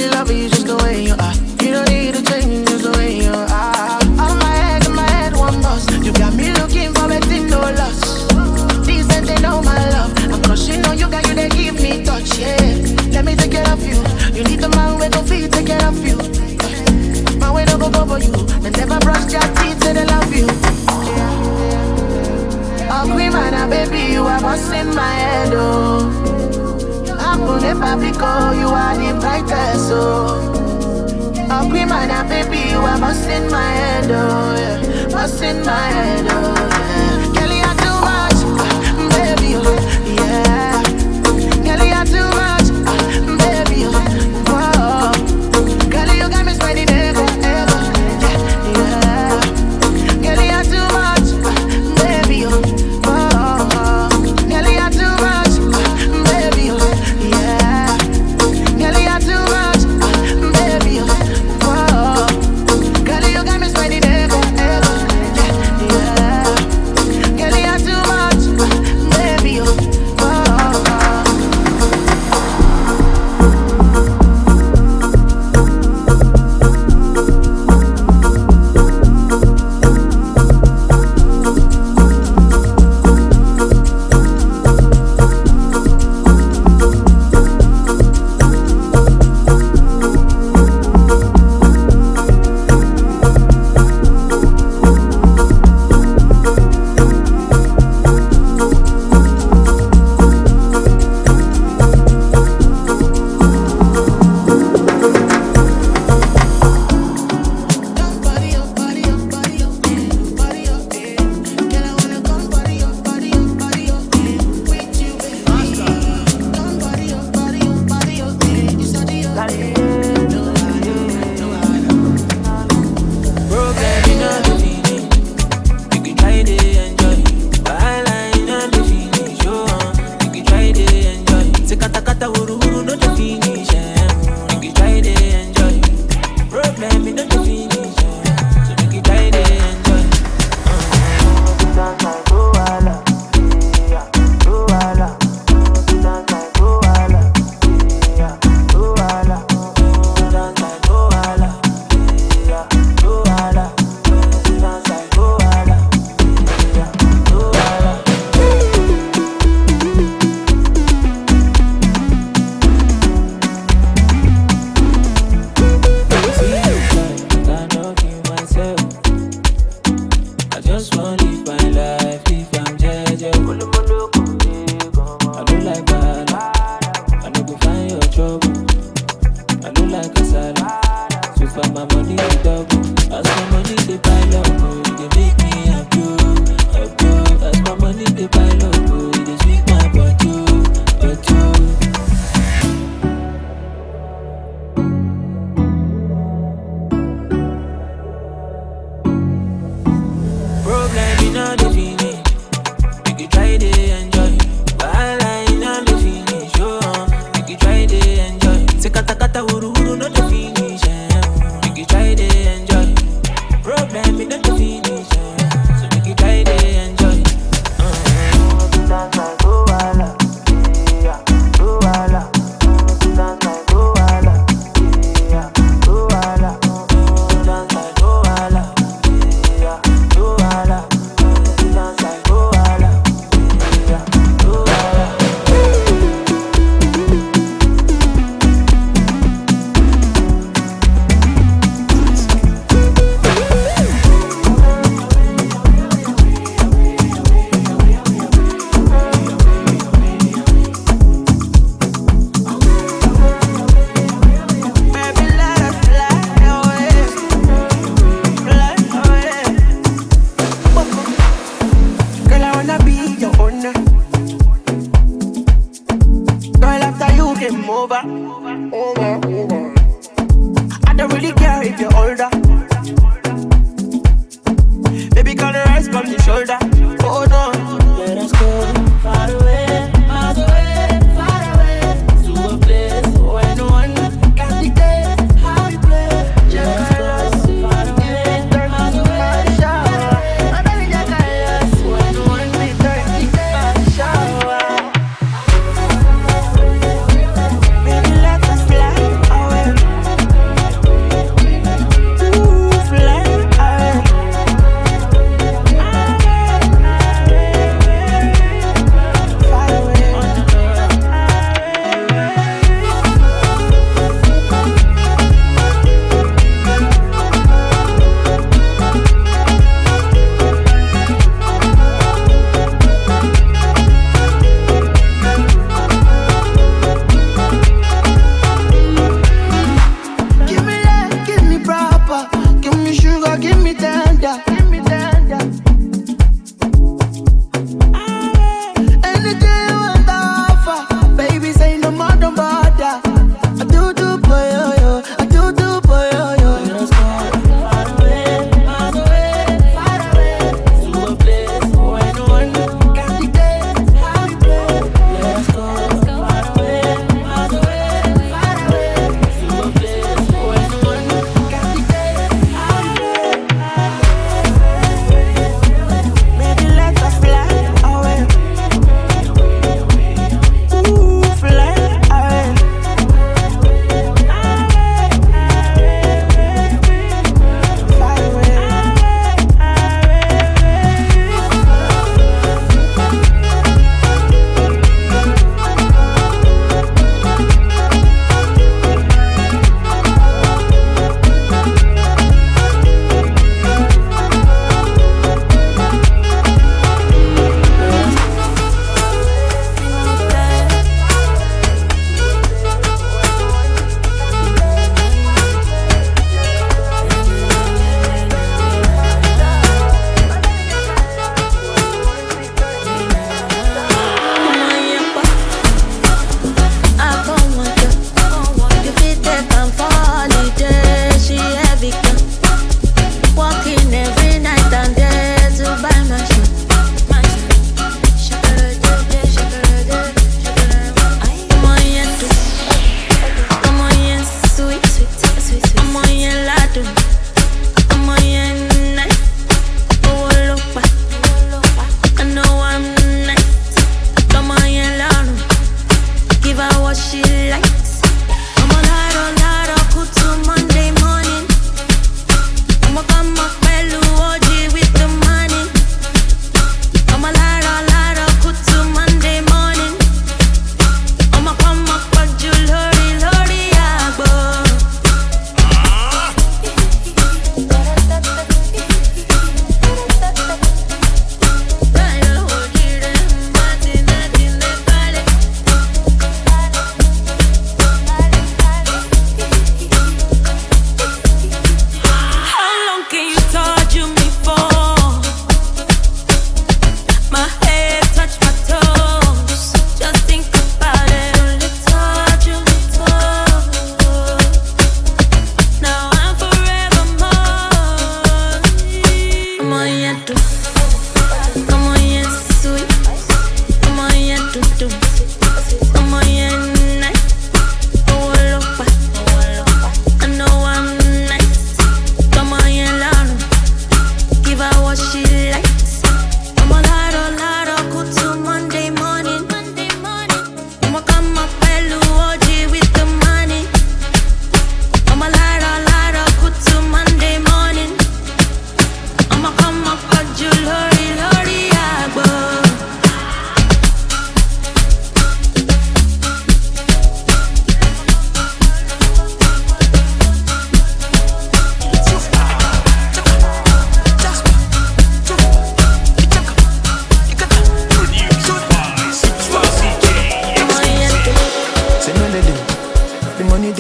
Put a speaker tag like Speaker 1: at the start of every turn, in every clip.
Speaker 1: really love you just the way you are. You don't need to change just the way you are. Out of my head, one boss. You got me looking for a thing, no loss. These and they know my love. I'm crushing on you, got you, they give me touch, yeah. Let me take care of you. You need the man with no feet, take care of you. My way don't go for you. And never brush your teeth, say they love you. Oh, queen man, baby, you are busting my head, oh. Apple and Papico, you are the brightest, oh. Oh, queen man, baby, you are busting my head, oh, yeah. Busting my head, oh, yeah. Girl, you are too much, baby, oh, yeah. Girl, you are too much, baby, oh. Girl, you got me spending ever, yeah. Girl, you are too much, baby, oh. Girl, you are too much, baby, oh, yeah. Girl, you are too much, baby, oh. Girl, you got me spending ever, yeah. Girl, you are too much, baby, oh.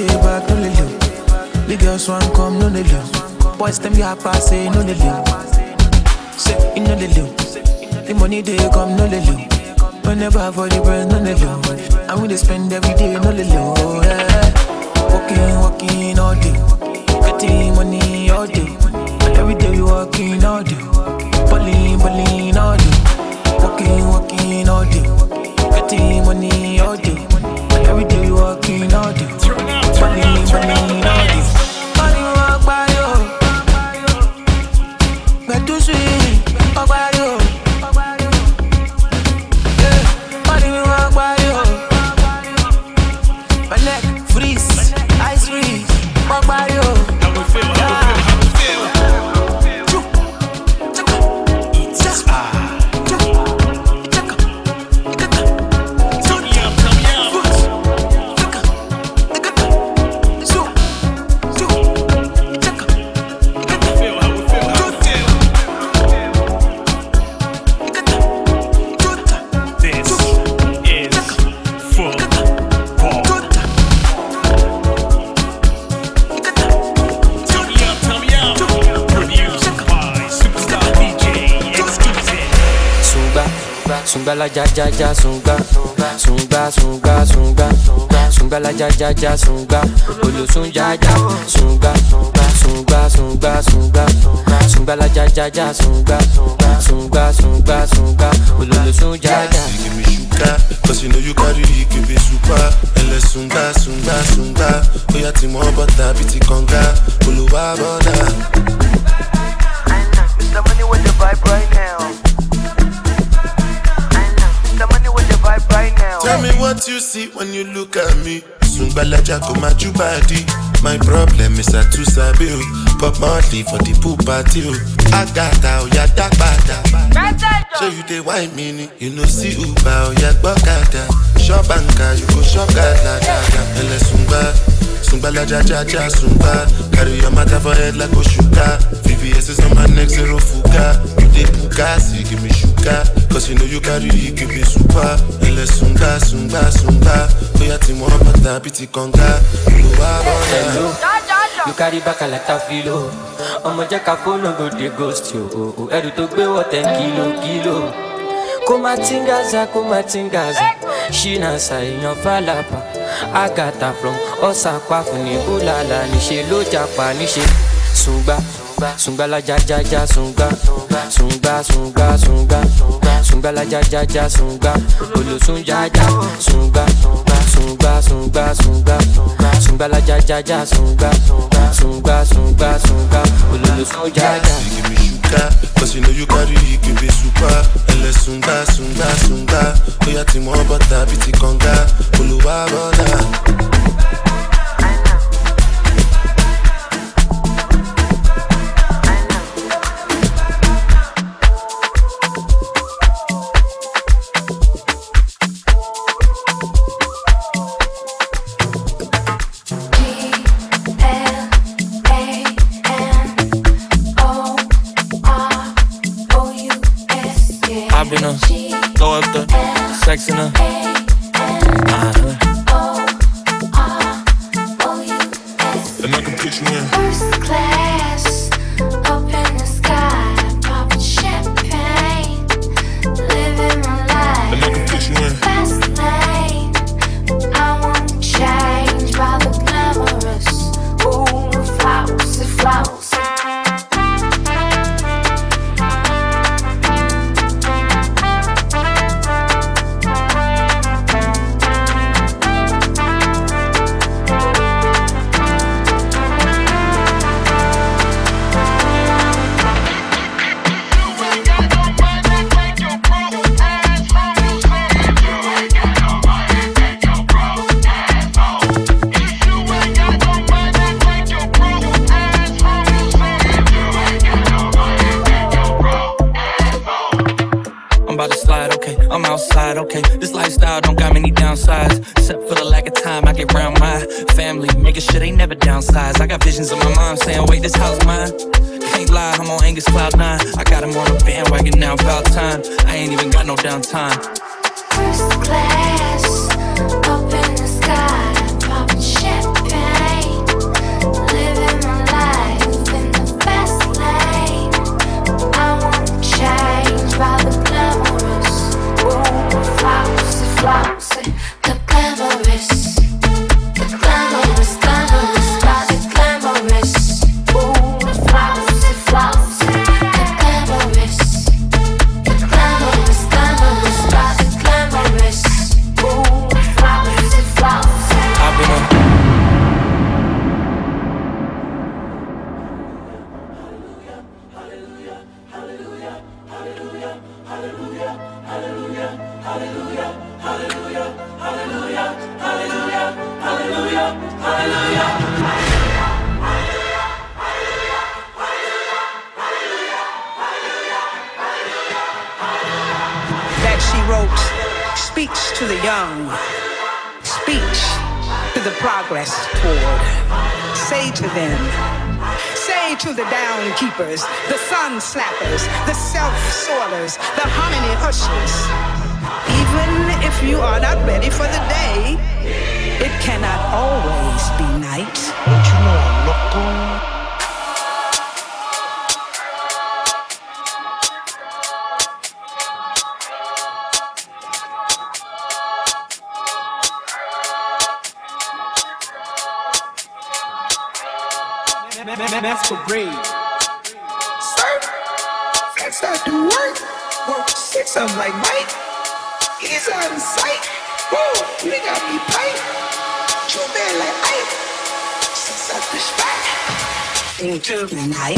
Speaker 1: day back, no lily. The girls want come, no lily. Boys them ya pass, say no lily. Say in no lily. The money they come, no lily. Whenever for the bread, no lily. And we they spend every day, no lily. Oh yeah. Walking all day. Getting money all day. And every day we walking all day. Balling all day. Walking all day. Getting money all day. And every day we walking all day. Balling all day. Money walk by you. Get too sweet. Walk by you. Yeah. Money walk by you. My neck freeze. Ice freeze. Walk by you.
Speaker 2: How we feel?
Speaker 3: Sunga la ja ja ja sunga, sunga sunga sunga, sunga la ja ja ja sunga, olusun ja ja sunga, sunga sunga sunga, sunga la ja ja ja sunga, sunga sunga sunga, olusun ja ja.
Speaker 4: Give me sugar, 'cause you know you carry it, give me super. Ele sunga sunga sunga, oya ti mo butter biti konga, oluwa boda.
Speaker 5: It's the money with the vibe right now. The money with the vibe right now.
Speaker 4: Tell me what you see when you look at me. Sungbalaja go my body. My problem is I too sabi o. Pop monthly for the pool party o. Agata o ya dagbada. Show you the wine mini. You know see Uber o ya gbokada. Shop banka you go shop gada. Ele Sungbalaja ja ja sungba. Carry your matter for head like Oshuka. VVS is on my neck, zero fuga. You dey puka, so you give me sugar. 'Cause you know you carry it, give me super. Ele sunga. Oya ti mo bata biti konga.
Speaker 3: Hello, you carry back a lot of filo. Ọmọ jẹ́ ká fóònù go dey ghost yo. Ẹrù tó gbé wọ̀ 10 kilo. Kó má tingaza. Ṣínà ṣàìyàn fàlàpà. Agatha from Ọ̀sàpá fún ní Bùlàlà. Níṣe ló japa níṣe. Sunga la ja ja ja sunga. Sunga la ja ja ja sunga. Olusun ja ja sunga. Sunga la ja ja ja sunga. Olusun ja ja.
Speaker 4: Give me sugar, 'cause you know you carry it, give me super. Ele sunga. Oya ti mo butter biti konga. Oluwa boda.
Speaker 3: Throw up the sex in her.
Speaker 2: And I can put you in.
Speaker 6: First class, up in the sky, popping champagne, living my life.
Speaker 2: And I can put you in.
Speaker 6: Fast lane, I won't change by the glamorous. Ooh, flowers.
Speaker 3: I'm outside, okay. This lifestyle don't got many downsides. Except for the lack of time I get around my family, making sure they never downsize. I got visions of my mom saying, wait, this house mine. Can't lie, I'm on Angus Cloud 9. I got him on a bandwagon now, about time. I ain't even got no downtime.
Speaker 6: First class, up in the sky, popping champagne.
Speaker 7: song, speech to the progress toward. Say to them, say to the down keepers, the sun slappers, the self-soilers, the hominy hushers. Even if you are not ready for the day, it cannot always be night.
Speaker 2: Don't you know I'm loco?
Speaker 7: Masquerade. Surf, flex out the work 6 of them like Mike. He's on sight. Whoa, we got me pipe. 2 men like Ike. 6 up the spot. Into the night.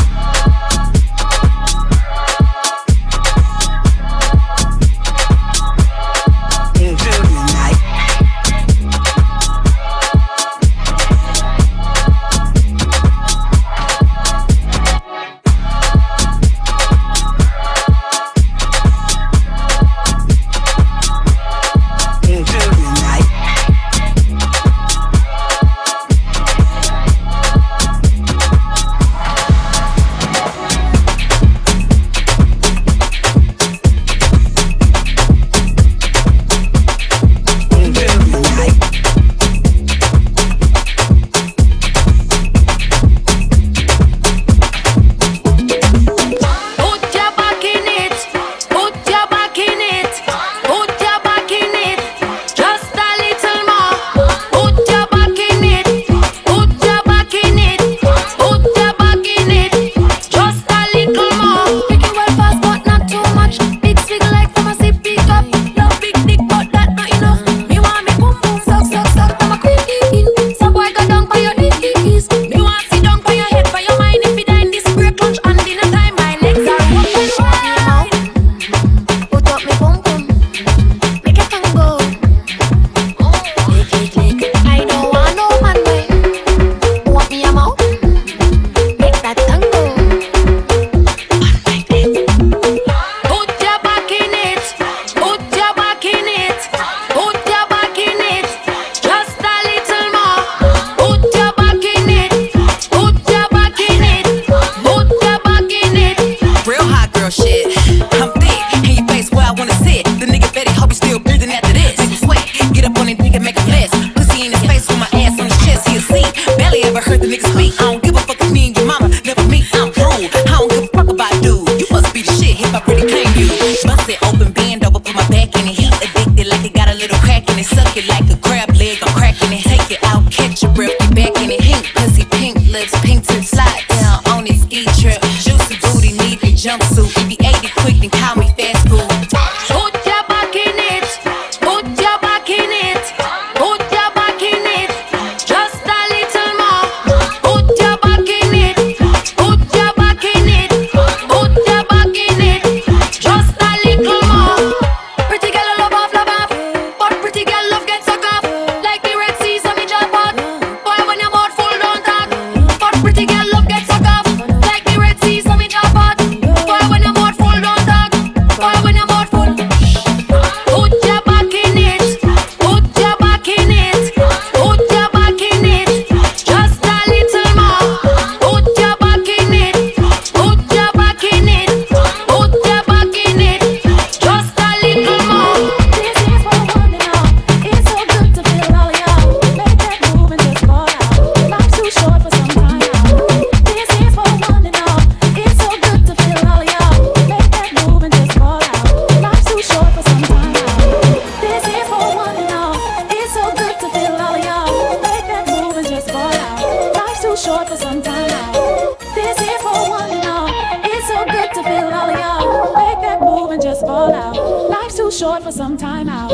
Speaker 8: Short for some time out.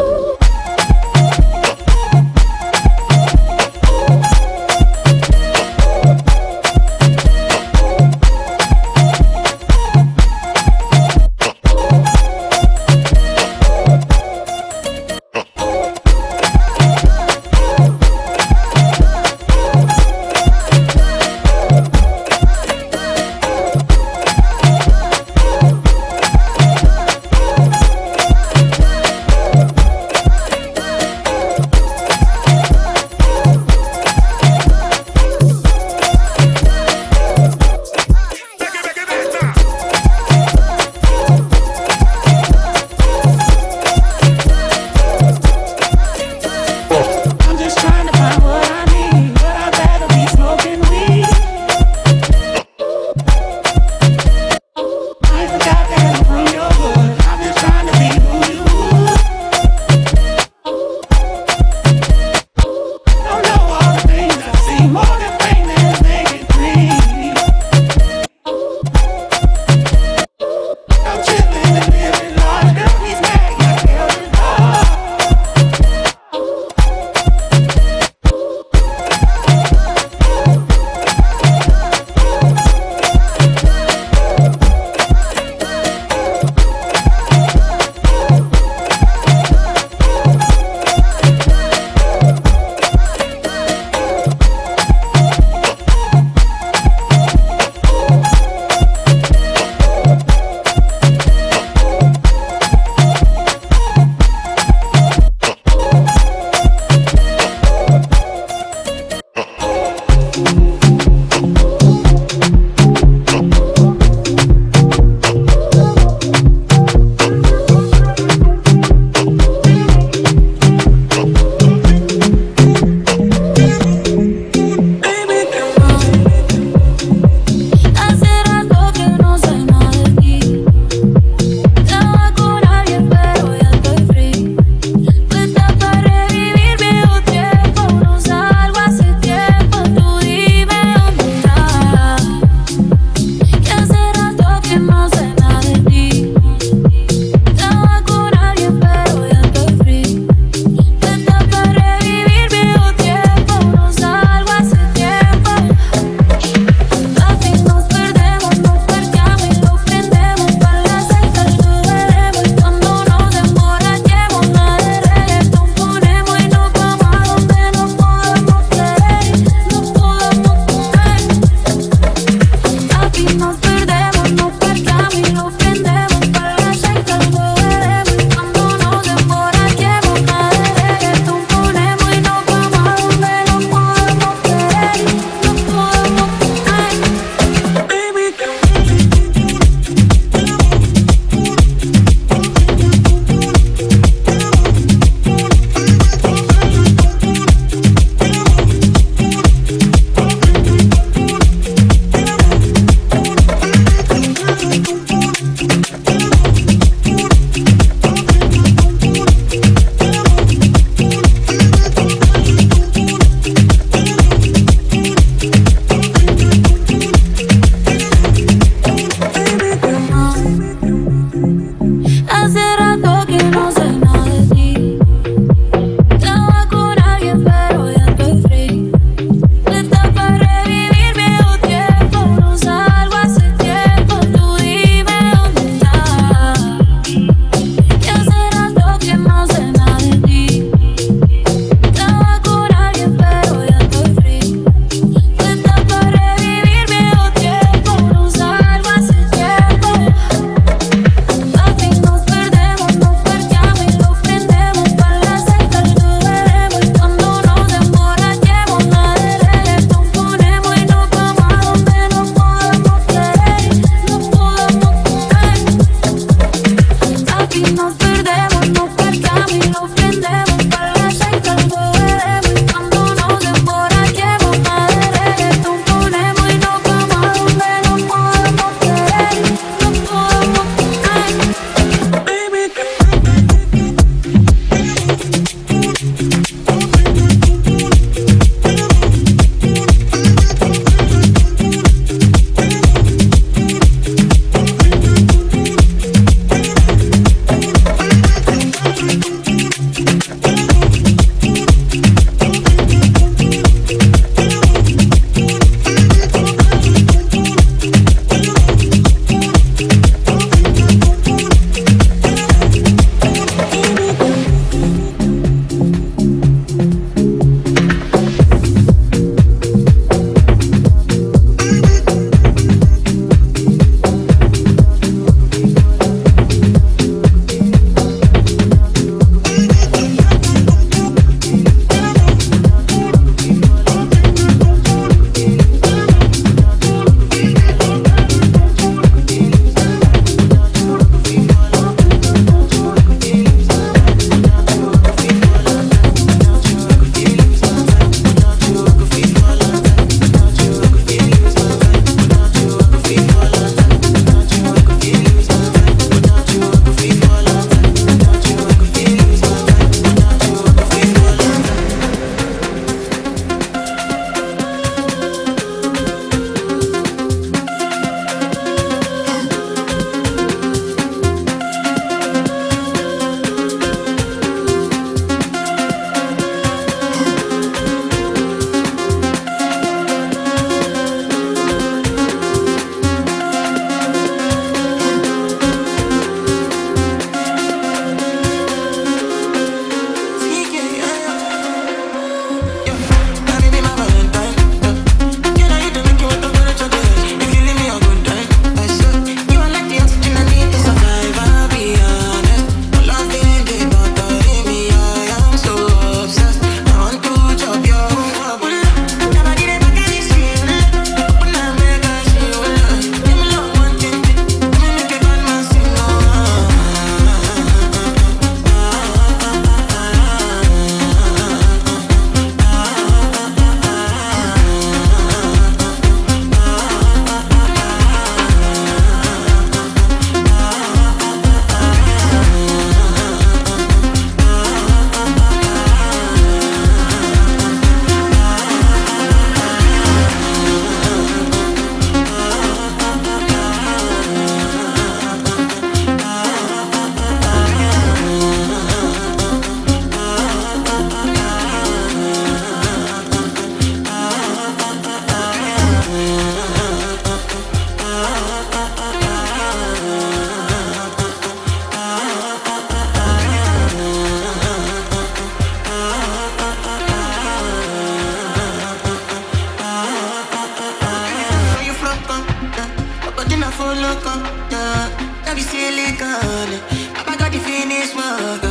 Speaker 1: loco, yeah. That be silicone. I got the finish work.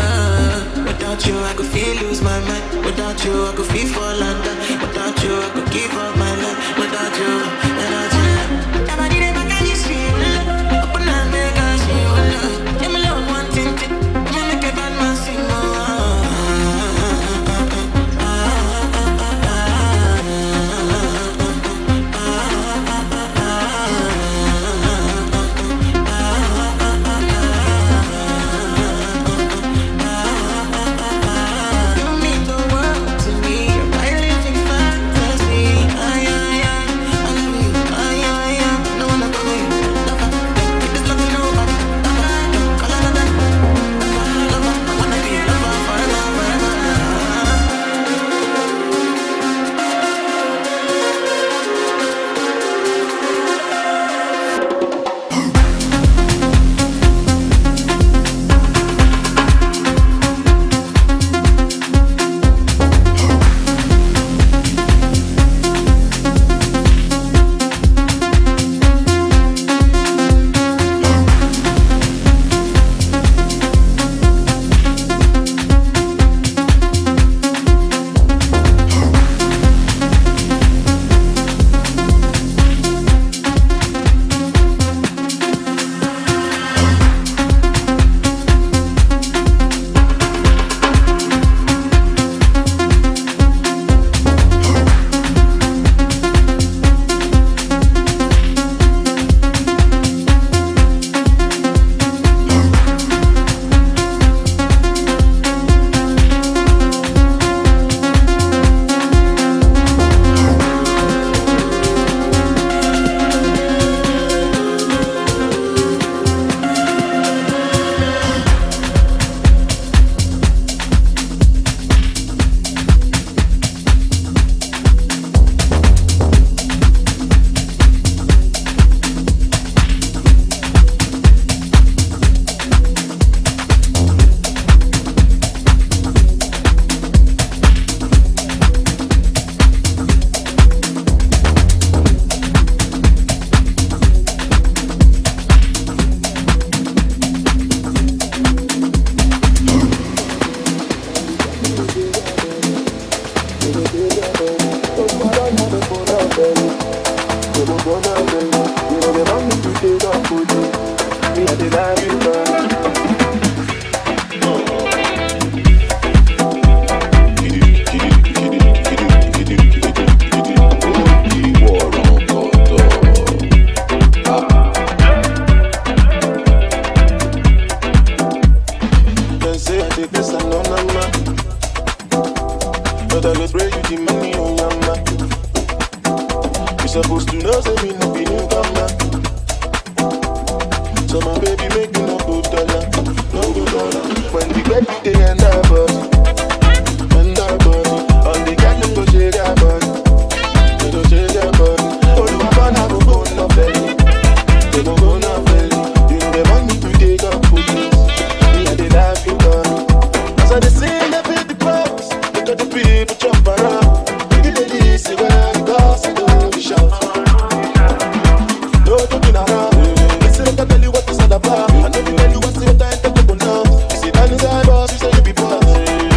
Speaker 1: Without you, I could feel lose my mind. Without you, I could feel fall under. Without you, I could give up my life. Without you, without you. Nobody never can you see. Open up, make us see. Give me love, one thing. I'ma make a bad man sing.
Speaker 4: I know you tell you what's your time to go now. You see, that is our boss, you say you be boss.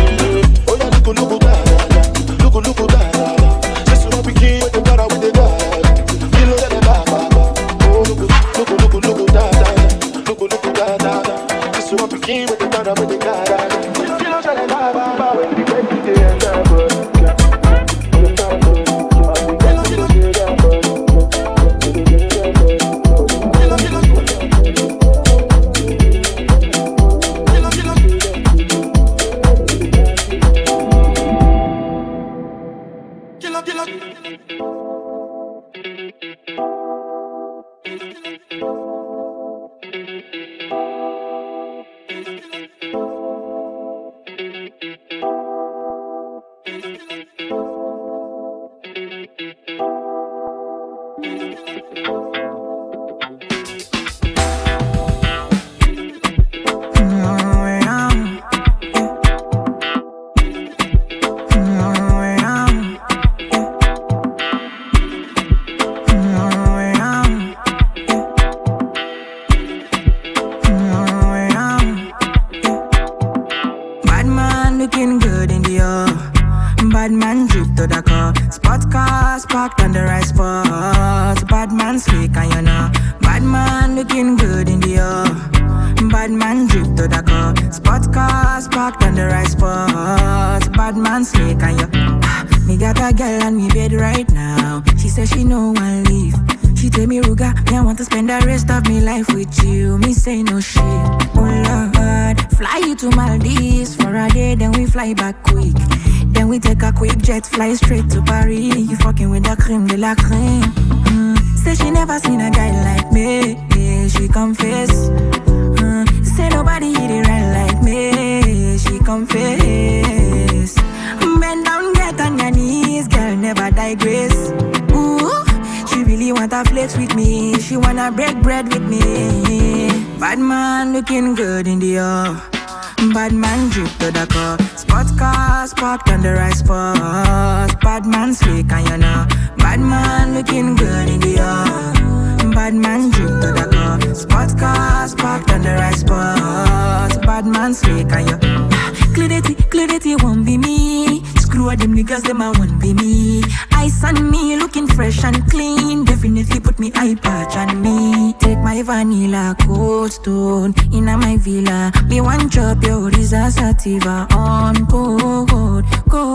Speaker 9: spot. Bad man slick and you know. Bad man looking good in the bad man drip to the car. Spot cars parked on the right spot. Bad man slick and you. Me got a girl on me bed right now. She says she no one leave. She tell me, Ruga, me I want to spend the rest of me life with you. Me say no shit. Oh Lord, fly you to Maldives for a day, then we fly back quick. Then we take a quick jet, fly straight to Paris. You fucking with the creme de la creme. Say she never seen a guy like me. Yeah, she confess. Say nobody hit it right like me. She confess. Bend down, get on your knees, girl, never digress. Ooh, she really wanna flex with me. She wanna break bread with me. Bad man looking good in the bad man drip to the car. Spot cars parked on the right spot. Bad man slick and you know. Bad man looking good in the bad man drip to the car. Spot cars parked on the right spot. Bad man slick and you. Clarity won't be me. Screw all them niggas, them I won't be me. Ice on me, looking fresh and clean. Definitely put me eye patch on me. Take my vanilla cold stone in my villa. Me one chop your Risa Sativa on cold.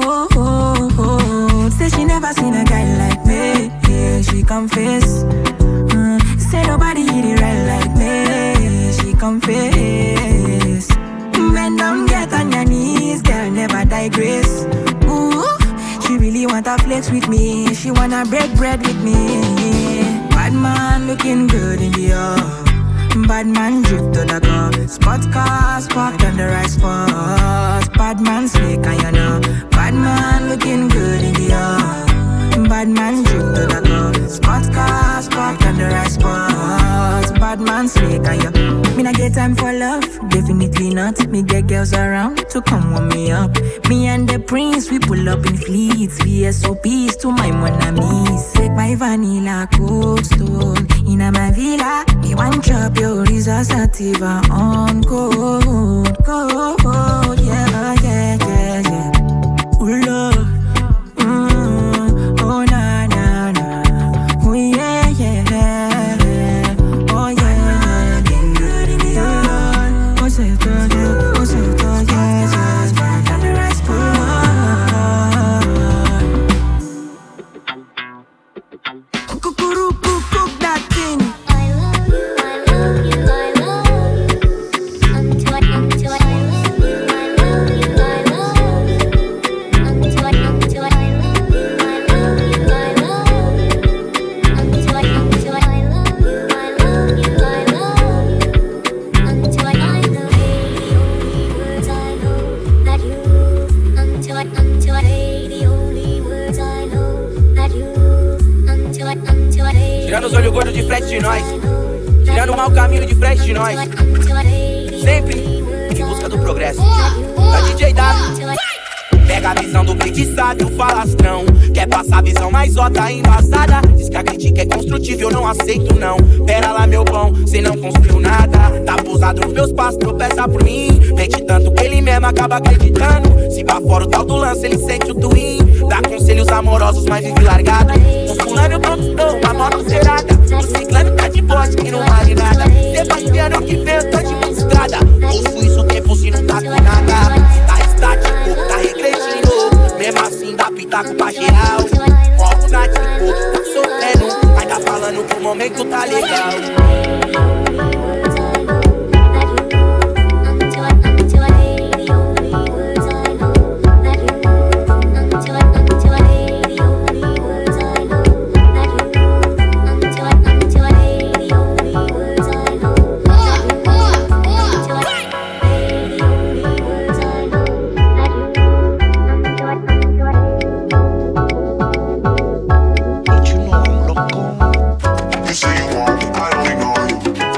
Speaker 9: Say she never seen a guy like me. Yeah, she confess. Say nobody hit it right like me. She confess. Bend down, get on your knees, girl, never digress. Ooh, she really wanna flex with me. She wanna break bread with me. Bad man looking good in the bad man drip to the car. Spot cars parked on the right spot. Bad man slick and you know. Bad man looking good in the bad man drip to the car. Spot cars parked on the right spot. Bad man slick and you. Me not get time for love, definitely not. Me get girls around to come warm me up. Me and the prince, we pull up in fleets. VSOPs to my monamis. Take my vanilla cold stone in my villa. Me one chop your Risa Sativa on cold. Yeah. Ooh, Lord. Oh, na. Oh, yeah. Oh, yeah. Cook that thing.
Speaker 6: I love you.
Speaker 10: Tirando os olhos gordos de frente de nós, tirando o mau caminho de frente de nós, sempre em busca do progresso. Da DJ W. Pega a visão do blitizado e o falastrão. Quer passar a visão mais ótima embasada. Diz que a crítica é construtiva, eu não aceito não. Pera lá meu bom, cê não construiu nada. Tá pousado nos meus passos, tropeça por mim. Mente tanto que ele mesmo acaba acreditando. Se pra fora o tal do lance, ele sente o twin. Dá conselhos amorosos, mas vive largado. O fulano eu conquistou uma moto zerada. O ciclano tá de bote e não vale nada. Sebastiano que vem, eu tô de uma estrada. Ouço isso o tempo se não tá com nada. Tá estático, tá regredindo. Mesmo assim dá pitaco pra geral. Ó o nático, tá sofrendo. Ainda falando que o momento tá legal.
Speaker 2: You say you want me, I don't ignore you.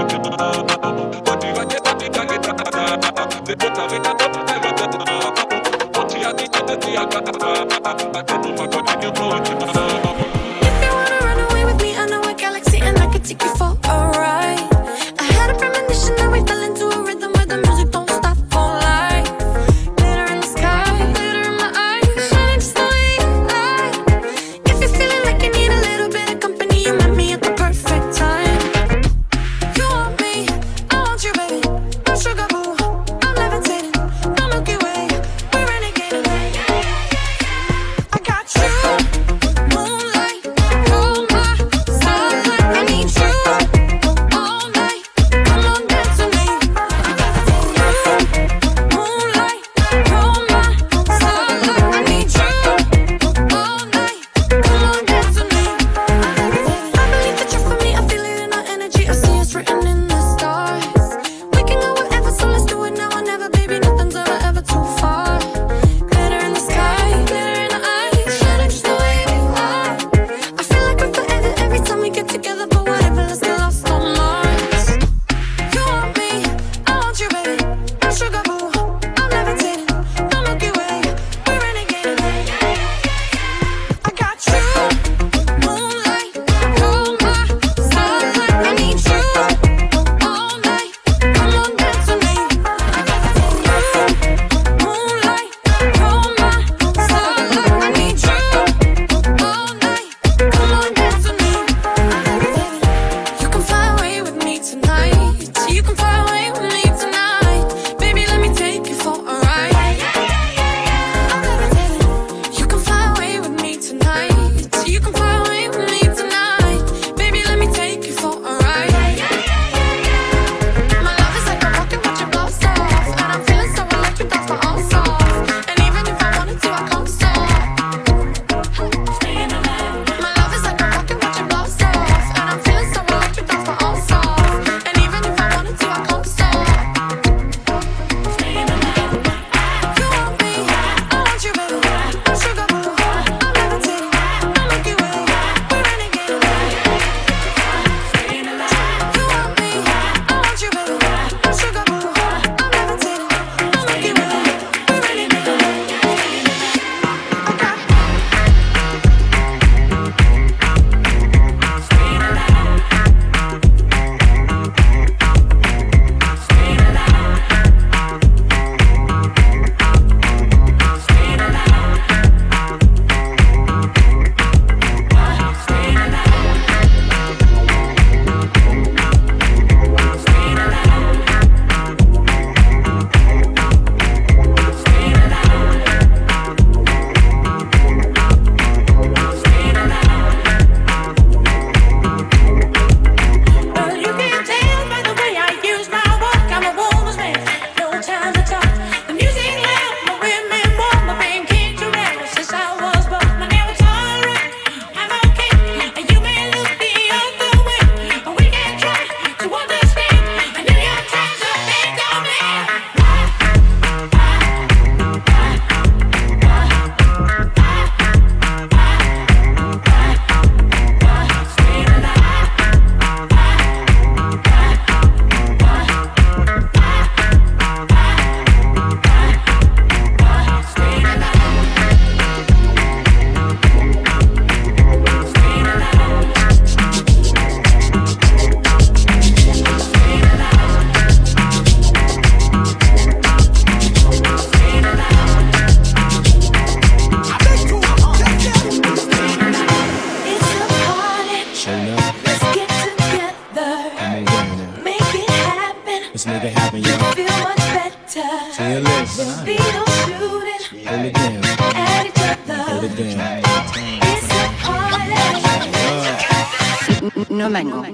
Speaker 11: No mango.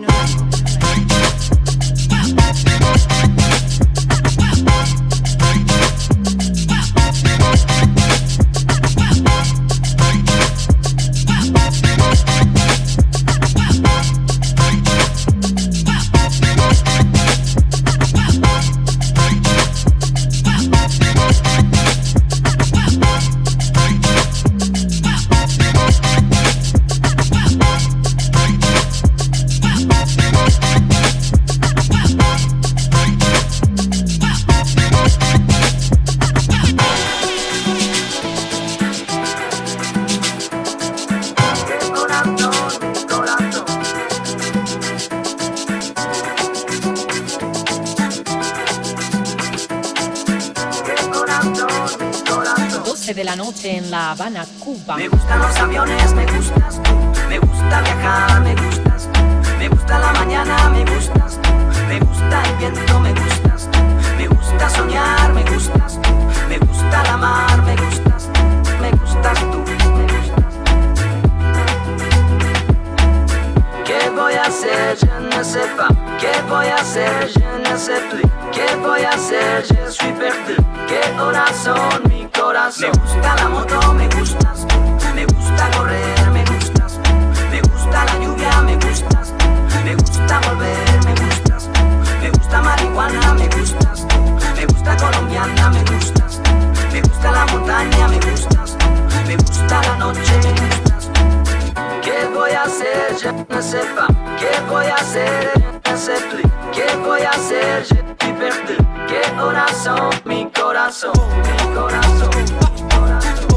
Speaker 8: 12 de la noche en La Habana, Cuba.
Speaker 11: Me gustan los aviones, me gustas tú. Me gusta viajar, me gustas tú. Me gusta la mañana, me gustas tú. Me gusta el viento, me gustas tú. Me gusta soñar, me gustas tú. Me gusta la mar, me gustas tú. Me gustas tú, me gustas tú. ¿Qué voy a hacer? Je ne sais pas. ¿Qué voy a hacer? Je ne sais plus. ¿Qué voy a hacer? Je suis perdu. ¿Qué horas son? Mi corazón. Me gusta la moto, me gustas tú. Me gusta correr, me gustas tú. Me gusta la lluvia, me gustas tú. Me gusta volver, me gustas tú. Me gusta marihuana, me gustas tú. Me gusta colombiana, me gustas tú. Me gusta la montaña, me gustas tú. Me gusta la noche, me gustas tú. ¿Qué voy a hacer? Je ne sais pas. ¿Qué voy a hacer? Je ne sais plus. ¿Qué voy a hacer? Je suis perdu. ¿Qué horas son? Mi corazón, mi corazón, mi corazón.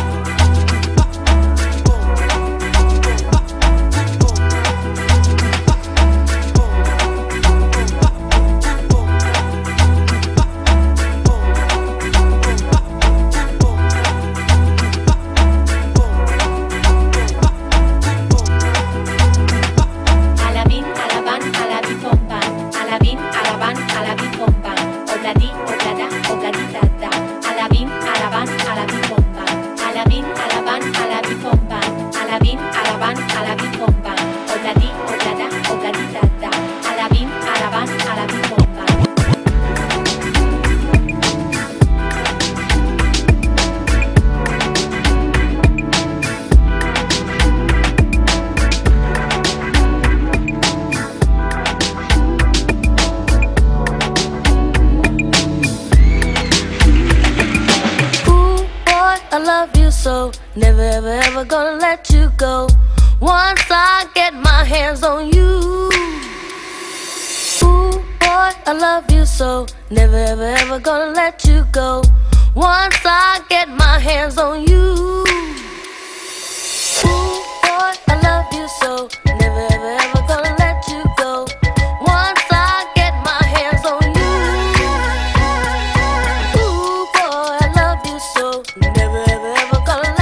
Speaker 12: So never ever ever gonna let you go. Once I get my hands on you. Ooh boy, I love you so. Never ever ever gonna let you go. Once I get my hands on you. Ooh boy, I love you so. Never ever ever gonna let you go. Once I get my hands on you. Ooh boy, I love you so. Never ever ever.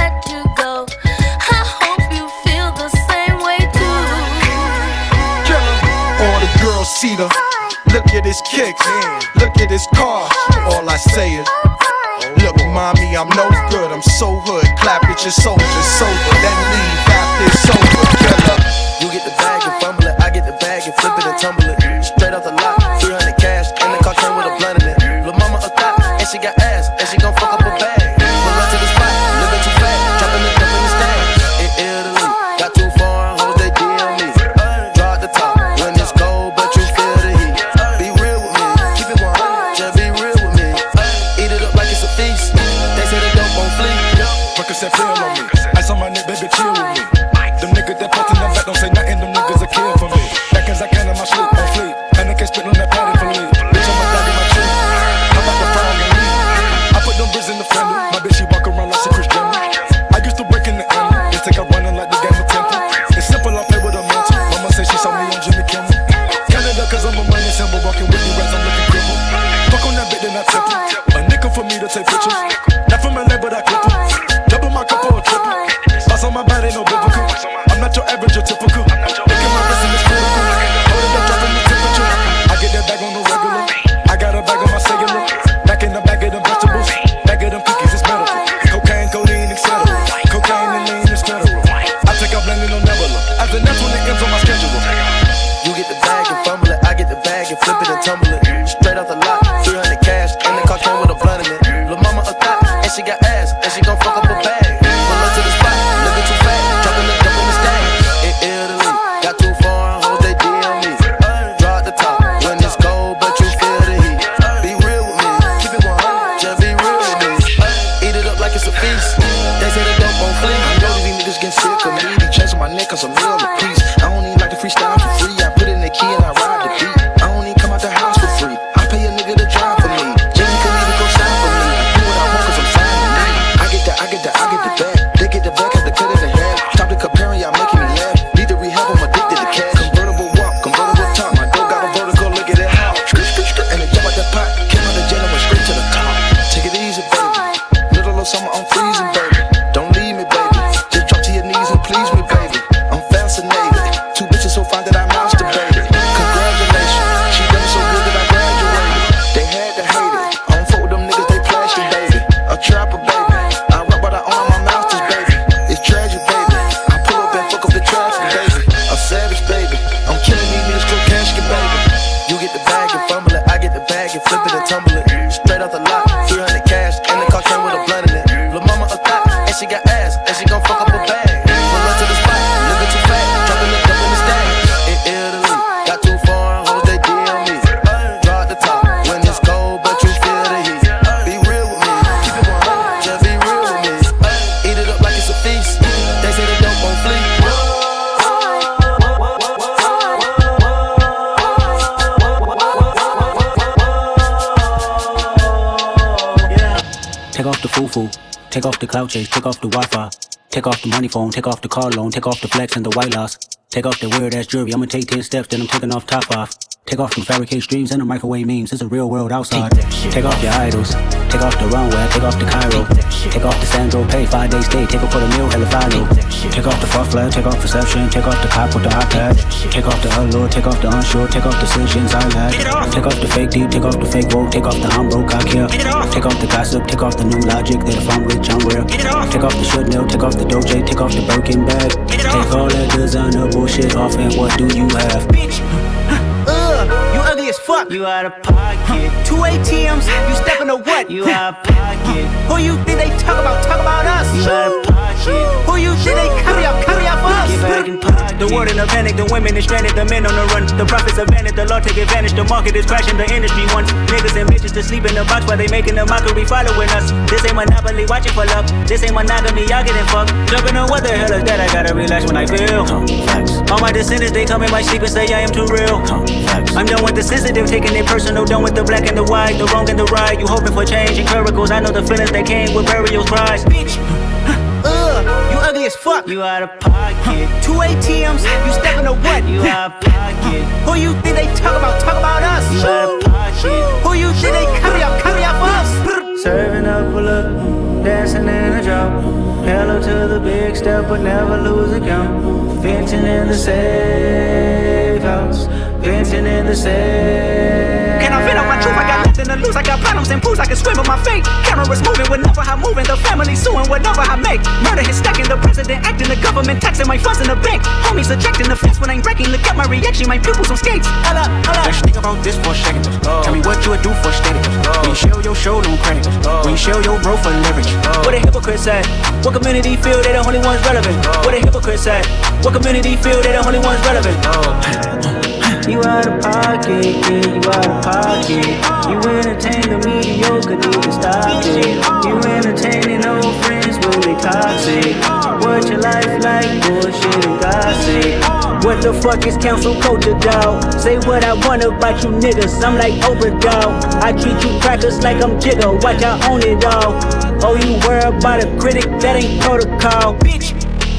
Speaker 13: Cedar. Look at his kicks, look at his car. All I say is, look, mommy, I'm no good, I'm so hood. Clap at your soldiers, sober, then leave after it's over. Killer.
Speaker 14: You get the bag and fumble it, I get the bag and flip it and tumble it. Straight off the lot, 300 cash, and the car came with a blunt in it. Lil' mama a thot, and she got ass, and she gon' fuck up a bag. Pull up to the spot, living too fast, dropping the dump in the stash. In Italy, got too far, hoes they DM me. Draw at the top, when it's cold, but you feel the heat. Be real with me, keep it 100, just be real with me. Eat it up like it's a feast, they say the dope won't flee.
Speaker 13: Percocet pill on me, ice on my neck, baby, chill with me. Them niggas that put in the back don't say nothing, them niggas a kill for me. Back as I can on my sleep, on fleek, and I can't spit on that patty for me. Bitch, I'm a dog in my tree, I'm about to frog and leave. I put them bricks in the fender, my bitch, she walk around like she Chris Jenner. I used to break in the end, they take her running like the game of Temple. It's simple, I play with a mental. Mama say she saw me on Jimmy Kimmel. Canada, cause I'm a money symbol, walking with you as I'm looking crippled. Fuck on that bit, then I temple. A nickel for me to take pictures. Not from LA, but I clip em. Double my cup or a triple. Boss on my body, no biblical. I'm not your average or typical. Look at my wrist and it's critical. Hold it up, dropping the temperature. I get that bag on the regular. I got a bag on my cellular. Back in the bag of them vegetables. Bag of them cookies, it's medical. Cocaine, codeine, etc. Cocaine and lean is federal. I take out blending on Nebula. As the next one, it ends on my schedule.
Speaker 14: You get the bag and fumble it, I get the bag and flip it and tumble it. Straight off the lot, 300 cash, and the car came with a blunt in it. Lil' mama a thot, and she got ass, and she gon' fuck up a bag. Pull up to the spot, living too fast, dropping the dump on the stash. In Italy, got too far, hoes they DM me. Draw at the top, when it's cold, but you feel the heat. Be real with me, keep it 100, just be real with me. Eat it up like it's a feast, they say the dope won't flee. I know these niggas getting sick of me, they chasing my neck cause I'm meal a piece. I don't even like to freestyle for free, I put in the key and I ride the beat. I don't even come out the house for
Speaker 15: off the foo-foo, take off the cloud chase, take off the Wi-Fi, take off the money phone, take off the car loan, take off the flex and the white loss, take off the weird ass jewelry. I'ma take 10 steps, then I'm taking off top off. Take off the fabricate streams and the microwave memes. It's a real world outside. Take off your idols. Take off the runway. Take off the Cairo. Take off the Sandro Pay. 5 days stay. Take off for the meal. Hella follow. Take off the fuck flag. Take off perception. Take off the cop with the iPad. Take off the allure. Take off the unsure. Take off decisions I had. Take off the fake deep. Take off the fake woke. Take off the I'm broke. I care. Take off the gossip. Take off the new logic that if I'm rich I'm real. Take off the should know. Take off the Doja. Take off the Birkin bag. Take all that designer bullshit off and what do you have?
Speaker 16: You ugly as fuck. You out of pocket. 2 ATMs, you stepping to what? You out of pocket. Who you think they talk about? Talk about us. You out of pocket. Who you think they carry up for us? Get back in pocket. The world in a panic, the women is stranded, the men on the run. The profits are vanished, the law take advantage. The market is crashing, the industry wants niggas and bitches to sleep in the box while they making a mockery following us. This ain't Monopoly, watching for luck. This ain't monogamy, y'all getting fucked. Jumping on what the hell is that? I gotta relax when I feel. All my descendants, they come in my sleep and say I am too real. I'm done with the sensitive, taking it personal. Done with the black and the white, the wrong and the right. You hoping for change and miracles. I know the feelings that came with burial cries. Bitch, you ugly as fuck. You out of pocket. 2 ATMs, you stepping to what? You out of pocket. Who you think they talk about? Talk about us. You out of pocket. Who you think they carry up for us? Serving up a look, dancing in a drop. Hello to the big step, but never lose a count. Venting in the safe house. Venting in the safe. Can I vent on my truth? I got nothing to lose. I got problems and pools. I can swim with my fate. Cameras moving whenever I'm moving. The family suing whenever I make. Murder is stacking. The president acting. The government taxing my funds in the bank. Homies ejecting the fence when I'm breaking. Look at my reaction. My pupils on skates. Hold up.
Speaker 15: Let's think about this for a second. Tell me what you would do for steady. When you show your show, no credit. When you show your bro for leverage.
Speaker 16: What a hypocrite said. What community feel they the only ones relevant? What a hypocrite said. What community feel they the only ones relevant? You out of pocket, yeah, you out of pocket. You entertain the mediocre, need to stop it. You entertaining old friends when they toxic. What your life like, bullshit and gossip. What the fuck is council culture, dawg? Say what I want about you niggas, I'm like Oprah, dawg. I treat you crackers like I'm Jigga, watch I own it all. Oh, you worry about a critic, that ain't protocol, bitch.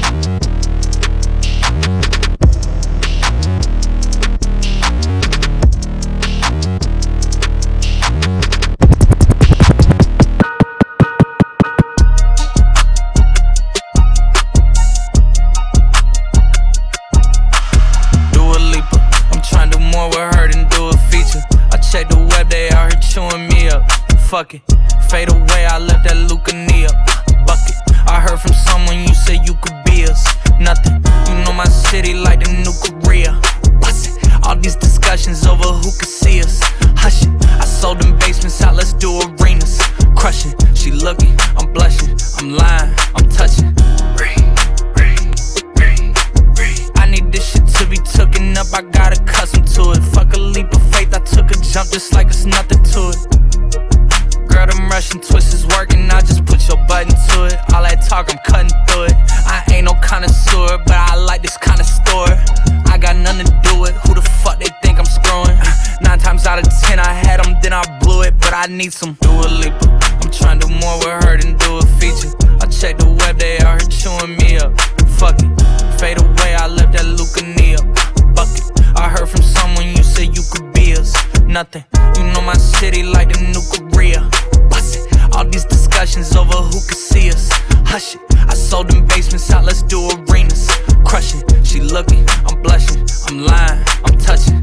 Speaker 17: Fuck it, fade away, I left that Lucania bucket. I heard from someone you said you could be us. Nothing, you know my city like the new Korea. Bust it, all these discussions over who could see us. Hush it, I sold them basements out, let's do arenas. Crushing, she looking, I'm blushing, I'm lying, I'm touching. I need this shit to be tooken up, I got accustomed to it. Fuck a leap of faith, I took a jump just like it's nothing to it. Girl, them Russian twists is working, I just put your button to it. All that talk, I'm cutting through it. I ain't no connoisseur, but I like this kind of store. I got nothing to do with who the fuck they think I'm screwing. 9 times out of 10 I had them, then I blew it. But I need some Dua Lipa. I'm trying to do more with her than do a feature. I check the web, they out here chewing me up. Fuck it, fade away, I left that Lucania bucket. I heard from someone you said you could be us. Nothing, you know my city like the new Korea. All these discussions over who could see us. Hush it, I sold them basements out, let's do arenas. Crushing, she looking, I'm blushing, I'm lying, I'm touching.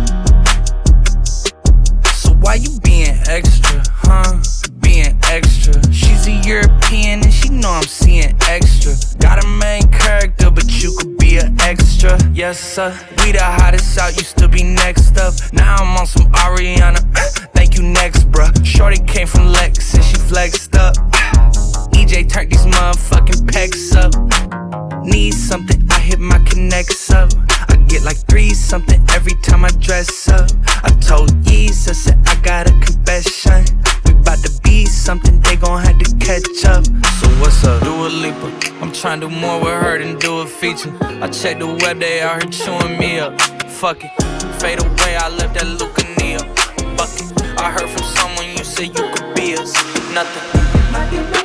Speaker 17: So why you being extra, huh? Being extra. She's a European and she know I'm seeing extra. Got a main character, but you could be an extra. Yes sir, we the hottest out, used to be next up. Now I'm on some Ariana, thank you next bruh. Shorty came from Lex and she flexed up. EJ turned these motherfucking pecs up. Need something, I hit my connects up. I get like 3 something every time I dress up. I told Yeez, I said I got a confession. We bout to be something, they gon' have to catch up. So what's up? Dua Lipa. I'm tryna do more with her than do a feature. I check the web, they out here chewing me up. Fuck it, fade away, I left that Lucania bucket. I heard from someone you said you could be us. Nothing.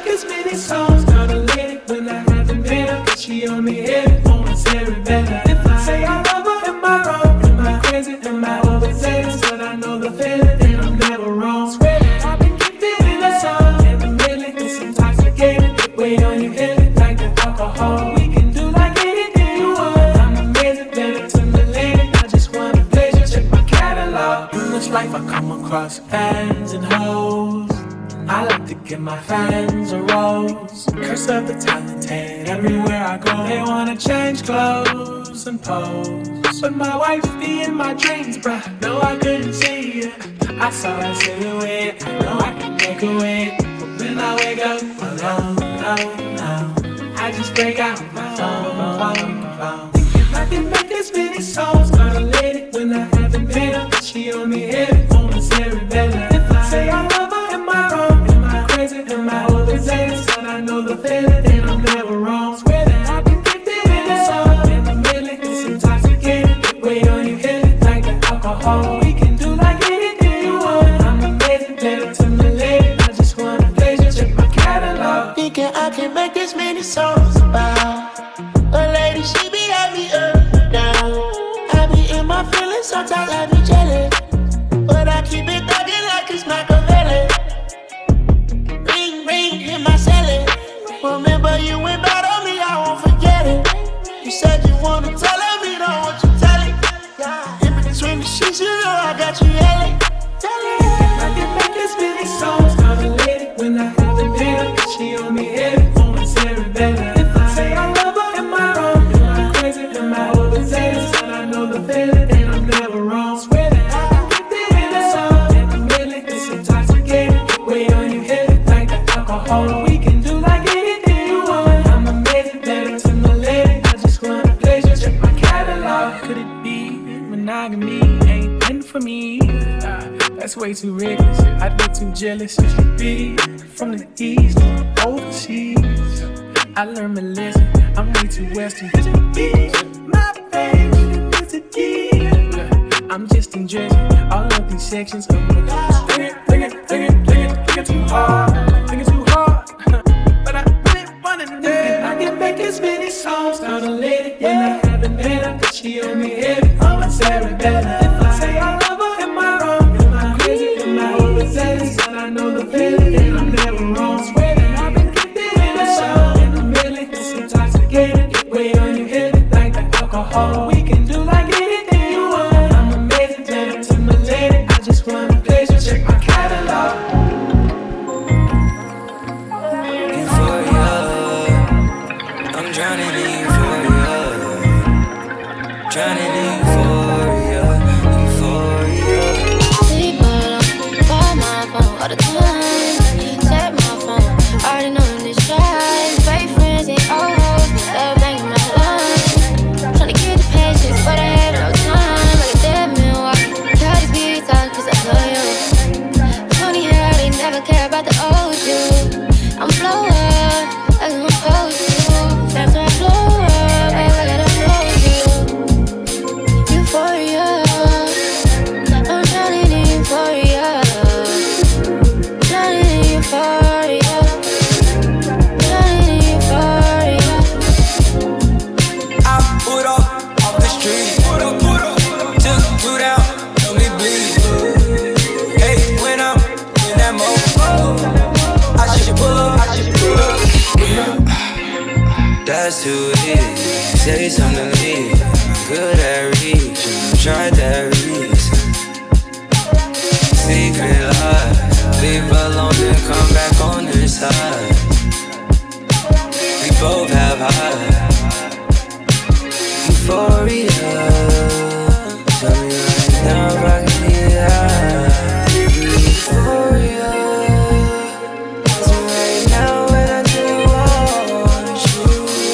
Speaker 18: life I come across fans and hoes. I like to give my fans a rose. Curse of the talented, everywhere I go they wanna change clothes and pose. But my wife be in my dreams, bruh, no I couldn't see it. I saw her silhouette, I know I can make a way. But when I wake up alone, I just break out my phone. Thinking I can make this many songs, got a lady when I haven't been up. She on me heavy, on the cerebellum. If I say I love her, am I wrong? Am I crazy? Am I overzealous? And I know the feeling, and I'm never wrong. Swear that I can keep it in the song. In the middle, it's intoxicating. The way on you hit it, like the alcohol. We can do like anything you want. I'm amazing, better to my lady. I just wanna pleasure, check my catalog.
Speaker 1: Thinking I can make this many songs about a lady, she be happy up down. I be in my feelings, sometimes I be jealous, but I keep it thugging like it's Machiavelli. Ring, ring, hit my celly. Remember you went bad on me, I won't forget it. You said you wanna tell me, don't want you tell it. In between the sheets, you know I got you yelling.
Speaker 18: I can make this many songs, got a lady when I haven't been up. She on me heavy, on the cerebellum. If I say I love her, am I wrong? Am I crazy? Am I overzealous? And I know the feeling, and I'm never wrong. Swear that I can keep it in the song. In the middle, it's intoxicating. The way on you hit it, like the alcohol. We can do like anything you want. I'm amazing, better to my lady. I just wanna pleasure, check my catalog. Could it be monogamy ain't meant for me? That's way too reckless, I'd be too jealous. You should be from the east, overseas. I learned my lesson, I'm way too western. My favorite, I'm just in Jersey. All of these sections of my life. Think it too hard, think it too hard. But I really wanna know. I can make as many songs, got a lady when I haven't met her. Cause she on me heavy, on my cerebellum. If I say I love her, am I wrong? Am I crazy? Am I overzealous? And I know the feeling, and I'm never wrong. Swear that I've been keeping in the song. In the middle, it's intoxicating. The way on you hit it, like the alcohol. We can do like anything you want. I'm amazing, better to my lady. I just wanna pleasure, check my catalog.
Speaker 19: Euphoria, I'm drowning in euphoria. Drowning in euphoria, euphoria.
Speaker 12: Sleep on my phone all the time. Tap my phone, already know this drive. Fake friends and old hoes, love banging my line. Tryna get the patience, but I had no time. Like a dead man walking, try to be talk 'cause I love you. Funny how they never care about the old you. I'm blowing up, like I'm supposed to. That's why I blow up, act like I don't know you. Euphoria, I'm drowning in euphoria. Drowning in euphoria. Drowning in euphoria.
Speaker 19: I put up off the street. Took 2 down, let me bleed. Hey, when I'm in that mode, I should pull up. That's who it is. Say something to me. I'm good at reaching. Try that reason. Secret life. Leave alone, then come back on this side. We both have high euphoria. Tell me right now if I can get high. Euphoria. Tell me right now when I do want you.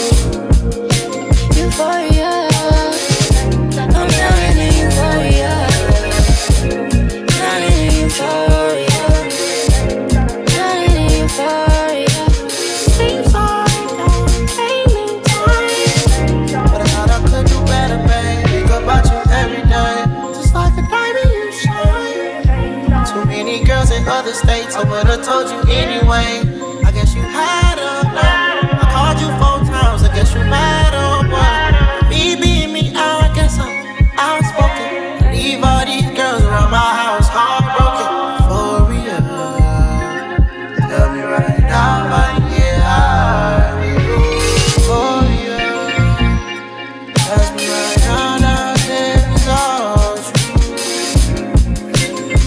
Speaker 12: Euphoria. I'm drowning in euphoria. Drowning in euphoria. Drowning in euphoria. Seems like I'm failing time.
Speaker 1: But I thought I could do better, babe. Think about you every day, just like a diamond you shine. Too many girls in other states, I would've told you anyway. I guess you had enough. I called you 4 times, I guess you mad or what? Me being me, I guess I'm outspoken. Leave all these girls around my house heartbroken. Euphoria. Tell me right now if I can get high with you. Euphoria. Ask me right now, now I said it's all true.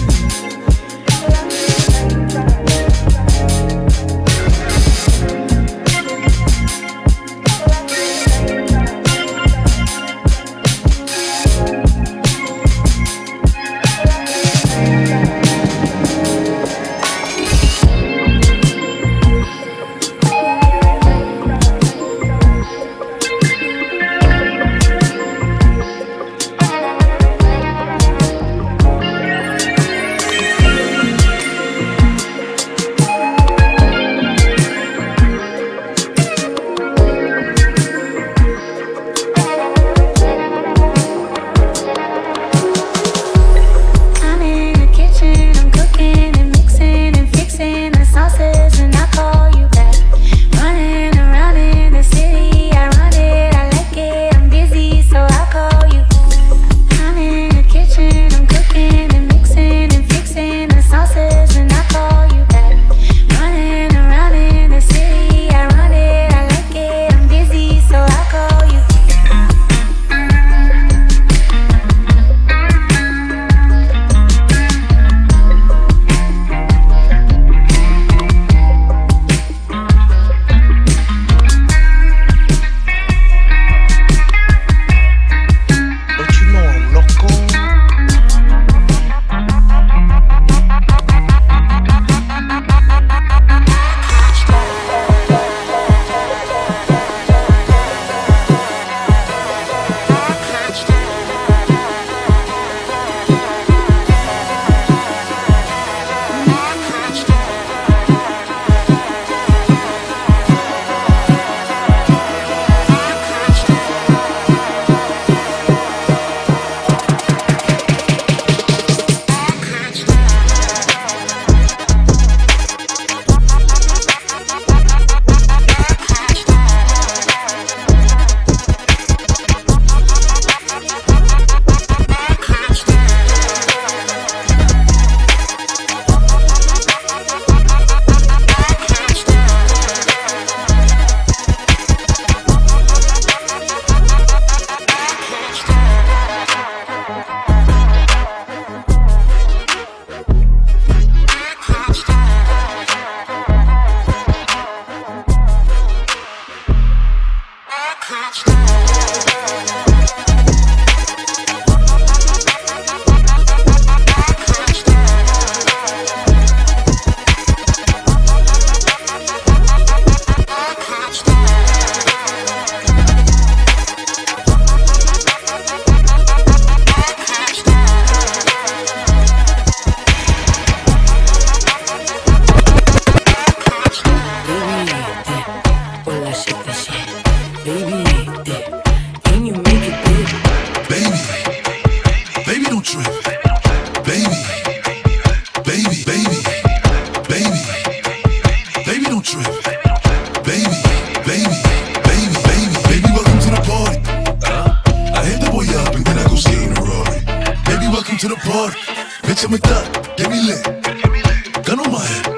Speaker 13: Bitch, I'm a thug, get me lit. Gun on my head,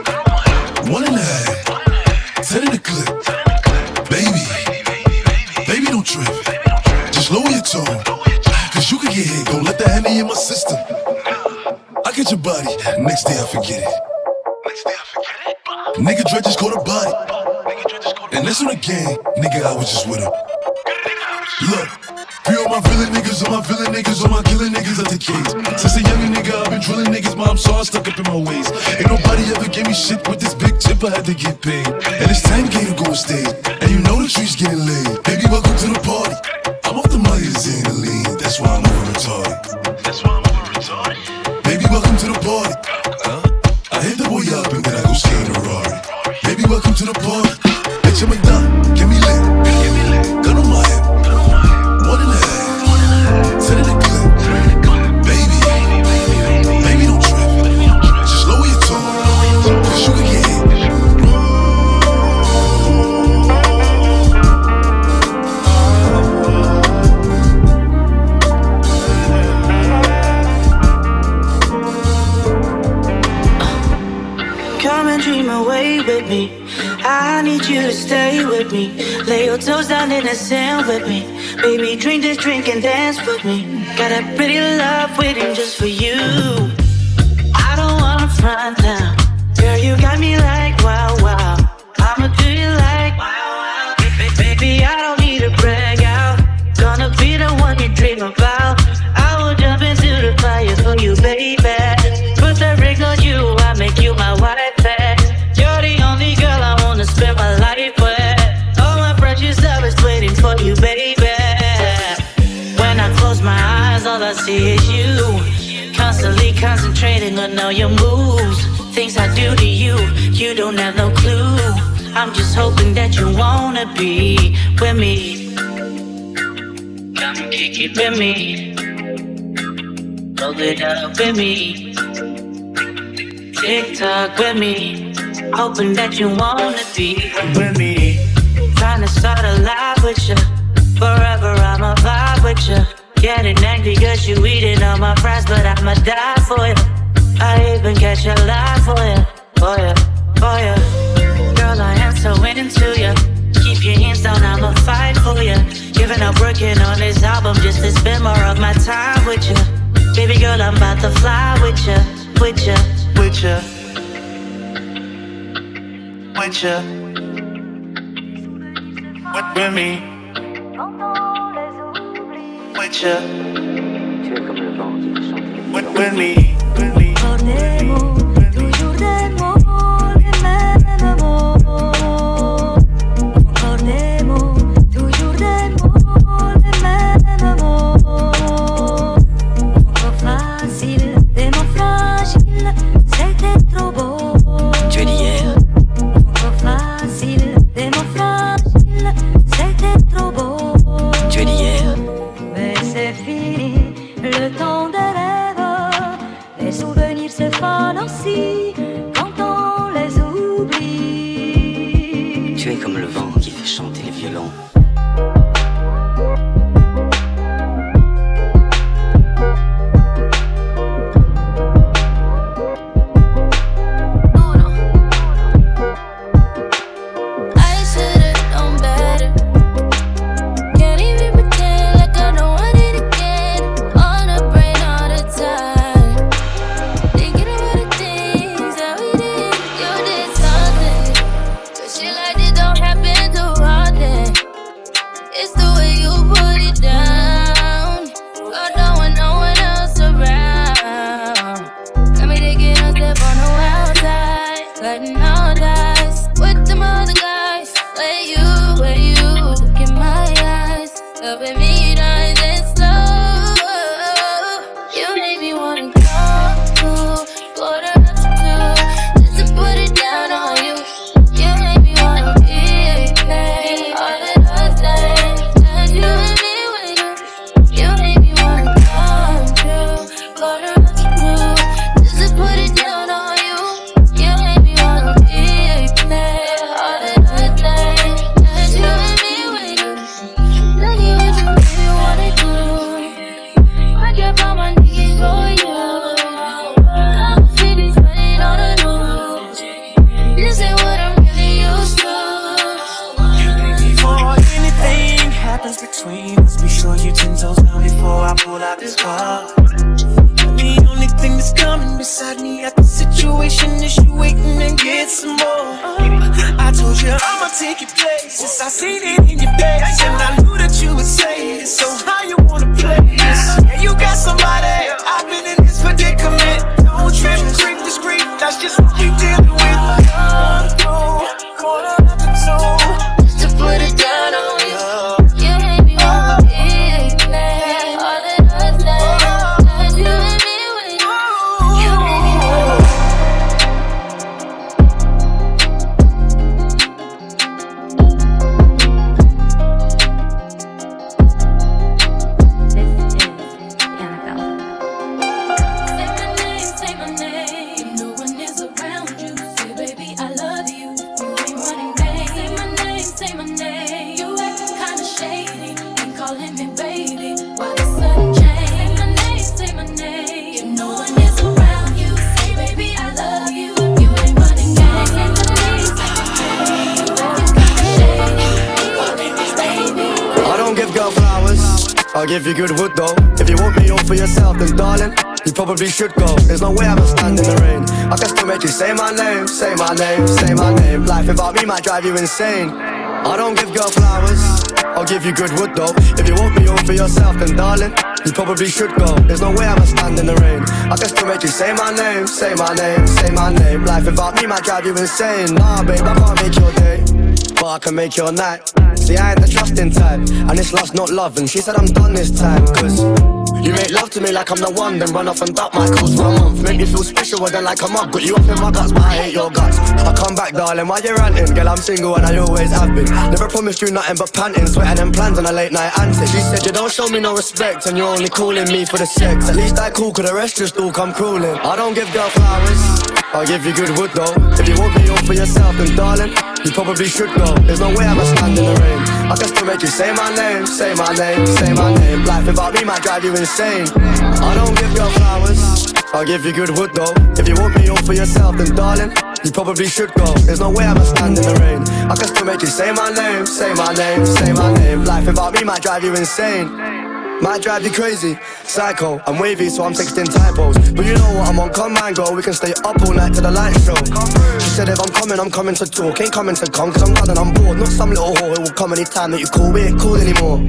Speaker 13: 1.5, 10 in the clip. Baby, don't trip. Just lower your tone, cause you can get hit. Don't let that Henny in my system. I get your body, next day I forget it. Nigga Dre just caught a body, and that's on the gang. Nigga, I was just with him. Look, free all my villain niggas, all my villain niggas, all my killing niggas at the cage. Since a young nigga, I've been drilling niggas, mom, so I stuck up in my ways. Ain't nobody ever gave me shit with this big chip, I had to get paid. And it's 10K to go on stage, and you know the tree's getting laid. Baby, welcome to the party. I'm off the money, it's in the lean, that's why I'm over retarded. Baby, welcome to the party. I hit the boy up and then I go skate in a Rari. Baby, welcome to the party. Bitch, I'm a done, get me lit. Gun on my head, 1.5, 10 in the clip. Baby, don't trip. Just lower your tone, cause you can get hit.
Speaker 20: Come and dream away with me. I need you to stay with me. Lay your toes down in the sand with me. Baby, drink this drink and dance with me. Got a pretty love waiting just for you. I don't wanna front now. Girl, you got me like wow, wow. I'ma do you like wow, wow. Baby, I don't need to brag out. Gonna be the one you dream about. I will jump into the fire for you, baby. Put the ring on you, I make you my wife. You're the only girl I wanna spend my life with. All my precious love is waiting for you, baby. When I close my eyes, all I see is you. Constantly concentrating on all your moves. Things I do to you, you don't have no clue. I'm just hoping that you wanna be with me. Come kick it with me. Roll it up with me. TikTok with me. Hoping that you wanna be with me. Trying to start a life with you. Forever I'ma vibe with you. Getting angry cause you eating all my fries, but I'ma die for you. I even catch a lie for you, for you, for you. Girl, I am so into you. Keep your hands down, I'ma fight for you. Giving up working on this album just to spend more of my time with you. Baby girl, I'm about to fly with you, with you, with you, with you, with me, with you, with me.
Speaker 6: Encore des mots, toujours des mots, les mêmes mots. Encore des mots, toujours des mots, les mêmes mots. Encore facile, des mots fragiles, c'était trop beau.
Speaker 20: Tu es d'hier.
Speaker 6: Encore facile, des mots fragiles, c'était trop beau.
Speaker 20: Tu es d'hier.
Speaker 6: Mais c'est fini, le temps des rêves. Les souvenirs se fanent aussi quand on les oublie.
Speaker 20: Tu es comme le vent qui fait chanter les violons.
Speaker 12: I should've known better. Can't even pretend like I don't want it again. On a brain all the time. Thinking about the things that
Speaker 21: got me at the situation is you waiting and get some more. I told you I'ma take your places. I seen it in your face, and I knew that you would say it. So how you wanna play this? Yeah, you got somebody. I've been in this predicament. Don't trip, creep, discreet. That's just what we dealing with. Corner after two, just to put it down on you.
Speaker 14: I'll give you good wood though. If you want me all for yourself, then darling, you probably should go. There's no way I'ma stand in the rain. I can still make you say my name, say my name, say my name. Life without me might drive you insane. I don't give girl flowers, I'll give you good wood though. If you want me all for yourself, then darling, you probably should go. There's no way I'ma stand in the rain. I can still make you say my name, say my name, say my name. Life without me might drive you insane. Nah babe, I can't make your day, but I can make your night. See, I ain't the trusting type, and it's love's not love. And she said I'm done this time, cause you make love to me like I'm the one, then run off and duck my calls for a month. Make me feel special, then like a mug. Got you up in my guts, but I hate your guts. I come back, darling, why you ranting? Girl, I'm single and I always have been. Never promised you nothing but panting, sweating and plans on a late night antics. She said you don't show me no respect, and you're only calling me for the sex. At least I cool, cause the rest just all come crawling. I don't give girl flowers, I'll give you good wood though. If you want me all for yourself, then darling, you probably should go. There's no way I'ma stand in the rain. I can still make you say my name, say my name, say my name. Life without me might drive you insane. I don't give girl flowers, I'll give you good wood though. If you want me all for yourself, then darling, you probably should go. There's no way I'ma stand in the rain. I can still make you say my name, say my name, say my name. Life without me might drive you insane. Might drive you crazy, psycho, I'm wavy so I'm texting typos. But you know what, I'm on command, girl. We can stay up all night till the light show. She said if I'm coming to talk. Ain't coming to come, cause I'm done and I'm bored. Not some little whore, it will come anytime that you call. We ain't cool anymore.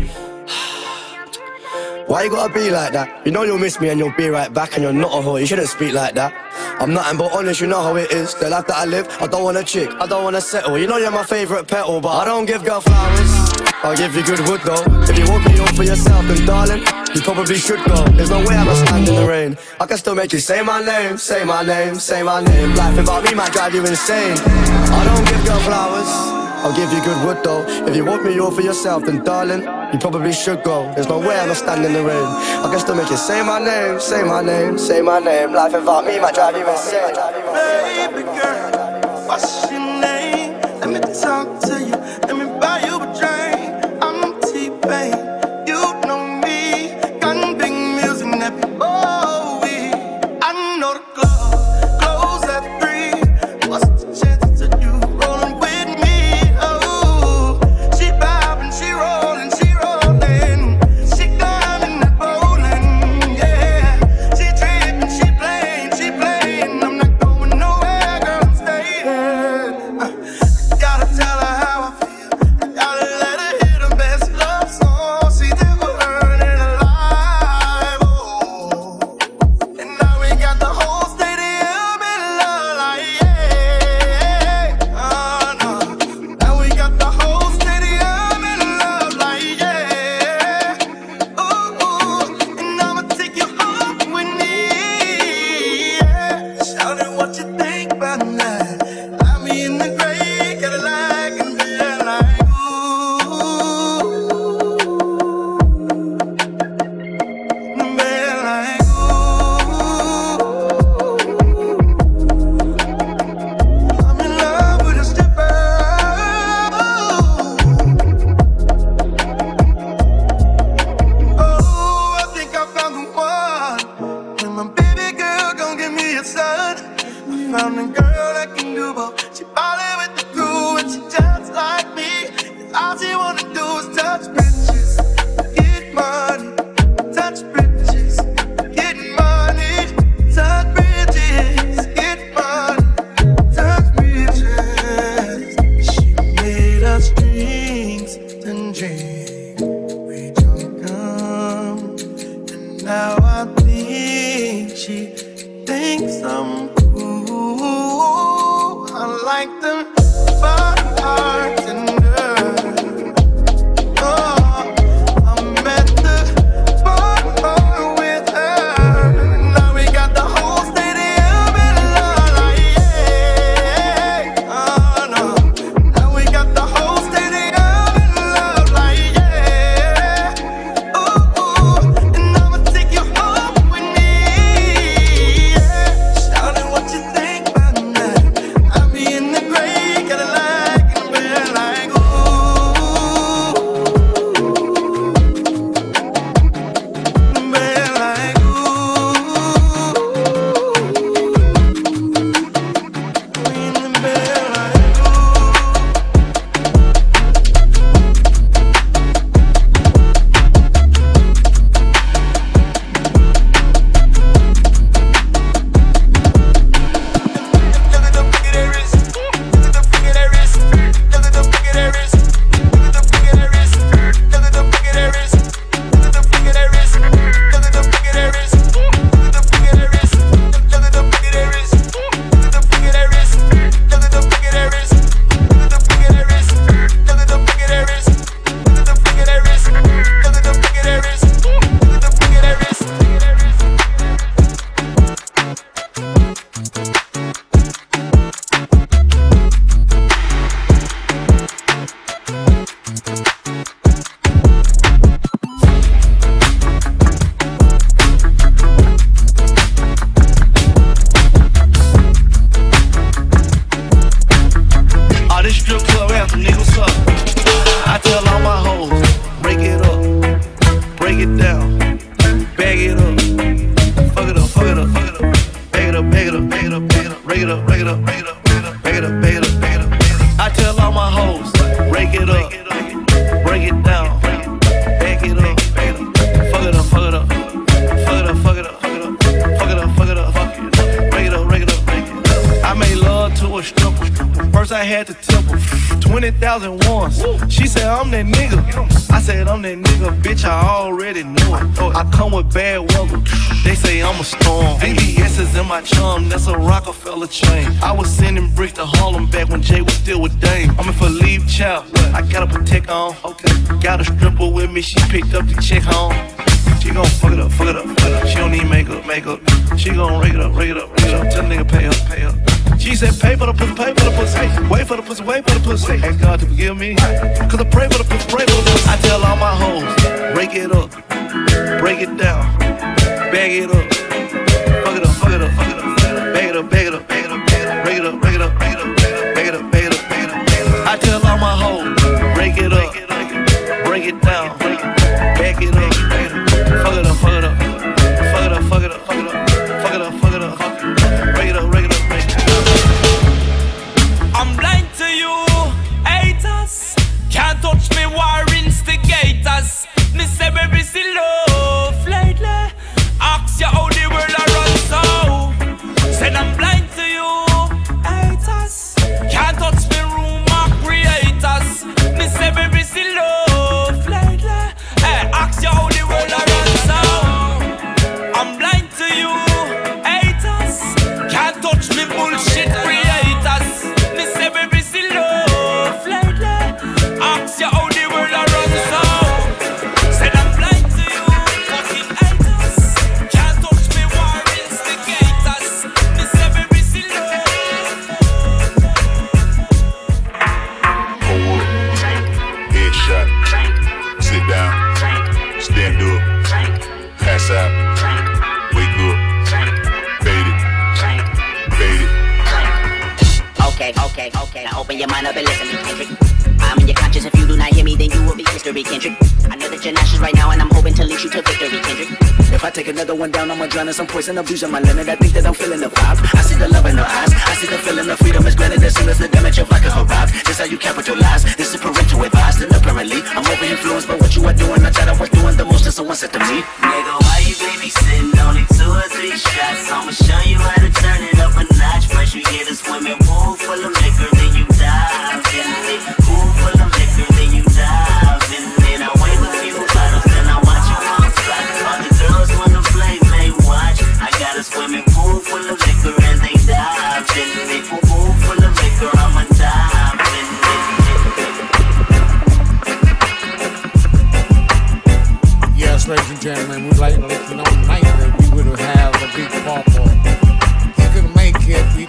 Speaker 14: Why you gotta be like that? You know you'll miss me and you'll be right back. And you're not a whore, you shouldn't speak like that. I'm nothing but honest, you know how it is. The life that I live, I don't want a chick, I don't wanna settle. You know you're my favourite petal, but I don't give girl flowers, I'll give you good wood though. If you want me all for yourself, then darling, you probably should go. There's no way I'ma stand in the rain. I can still make you say my name, say my name, say my name. Life without me might drive you insane. I don't give girl flowers, I'll give you good wood though. If you want me all for yourself, then darling, you probably should go. There's no way I'ma stand in the rain. I can still make you say my name, say my name, say my name. Life without me might drive you insane.
Speaker 21: Baby girl, what's your name? Let me talk to you, let me buy you a drink. I'm T-Pain, you know me. Got big music that be Bowie. I know the club close at 3. What's the chances of you rolling with me? Oh, she vibing, she rolling, she rolling. She climbing that bowling, yeah. She tripping, she playing. I'm not going nowhere, girl, I'm staying. Gotta tell her how I feel. Gotta let her hear the best love song. See that we're burning alive, oh. And now we got the whole stadium in love, like yeah. Oh no. Now we got the whole stadium in love, like yeah. Ooh, and I'ma take you home with me, yeah. Shout it, what you think about that? I'm in the gray Cadillac and feel like I'm in love with a stripper. Oh, I think I found the one. And my baby girl gon' give me a son. I found a girl that can do both. She ballin' with the crew and she just like me. And all she wanna do is touch bitches, get money. Touch bitches, get money. Touch bitches, like the bartender. Oh, I'm at the bar with her. Now we got the whole stadium in love, like yeah. Oh no, now we got the whole stadium in love, like yeah. Ooh, and I'ma take you home with me. Yeah. Shout out what you think about that. I be in the gray Cadillac and we're like ooh. We're like ooh. We in the bed like
Speaker 14: all this strip club anthem, nigga, what's up? I tell all my hoes, break it up, break it down, bag it up, fuck it up, fuck it up, fuck it up, bag it up, bag it up, bag it up, bag it up, break it up, break it up, break it up, bag it up, bag it up, bag it up, bag it up. I tell all my hoes, break it up, break it down, bag it up, bag it up, fuck it up, fuck it up, fuck it up, fuck it up, fuck it up, fuck it up, fuck it up, fuck it up, break it up, break it up, break it up. I made love to a stripper. First I had to tip her 20,000 once. She said I'm that nigga. I said I'm that nigga, bitch. I already knew it. I come with bad weather. They say I'm a storm. VVS is in my charm. That's a Rockefeller chain. I was sending bricks to Harlem back when Jay was still with Dame. I'm in for leave child. I got a protect on. Okay. Got a stripper with me. She picked up the chick home. She gon' fuck it up, fuck it up, fuck it up. She don't need makeup, makeup. She gon' rake it up, rake it up, rake it up. Tell the nigga pay up, pay up. She said pay for the pussy, pay for the pussy. Wait for the pussy, wait for the pussy. Ask God to forgive me, cause I pray for the pussy, pray for the pussy. I tell all my hoes, break it up, break it down, bag it up, fuck it up, fuck it up, fuck it up, bag it up, bag it up, bag it up, break it up, break it up, break it up, bag it up, bag it up, bag it up. I tell all my hoes, break it up, break it down, bag it up, fuck it up, fuck it up, fuck it up, fuck it up, fuck it up, fuck it up, fuck it up, break it up, break it up, break it up.
Speaker 17: I'm blind to you, haters. Can't touch me, war instigators. Me say baby still love lately. Ask you how the world a run so. Said I'm blind to you, haters. Can't touch me, rumor creators. Me say baby still love lately. Hey, ask you how the world a run so. I'm blind to you, haters. Can't touch me, bullshit creators. Me say baby still love lately. Ask you how the world a run so. Said I'm blind to you, fucking haters. Can't touch me, war instigators. Me say baby still love.
Speaker 5: Hold up, headshot, sit down, stand up, pass out, wake up, fade it, fade it.
Speaker 22: Okay. Now open your mind up and listen to me, Kendrick. I'm in your conscience. If you do not hear me, then you will be history, Kendrick. I know that you're nauseous right now, and I'm hoping to lead you to victory, Kendrick.
Speaker 23: If I take another one down, I'ma drown in some poison, abusing my limit. I think that I'm feeling the vibe. I see the love in her eyes. I see the feeling of freedom is granted as soon as the damage of vodka arrives. This how you capitalize. This is parental advice. And apparently, I'm over influenced by what you are doing. I thought I was doing the most, and someone said to me,
Speaker 22: Nigga, why you babysitting? Only 2 or 3 shots. I'ma show you how to turn it up a notch. First you get a swimming pool full of liquor, then you dive in it. Pool full of liquor, then you dive in it. I wave a few bottles, then I watch you on the spot. All the girls wanna play, may watch. I got a swimming pool full of liquor and they dive in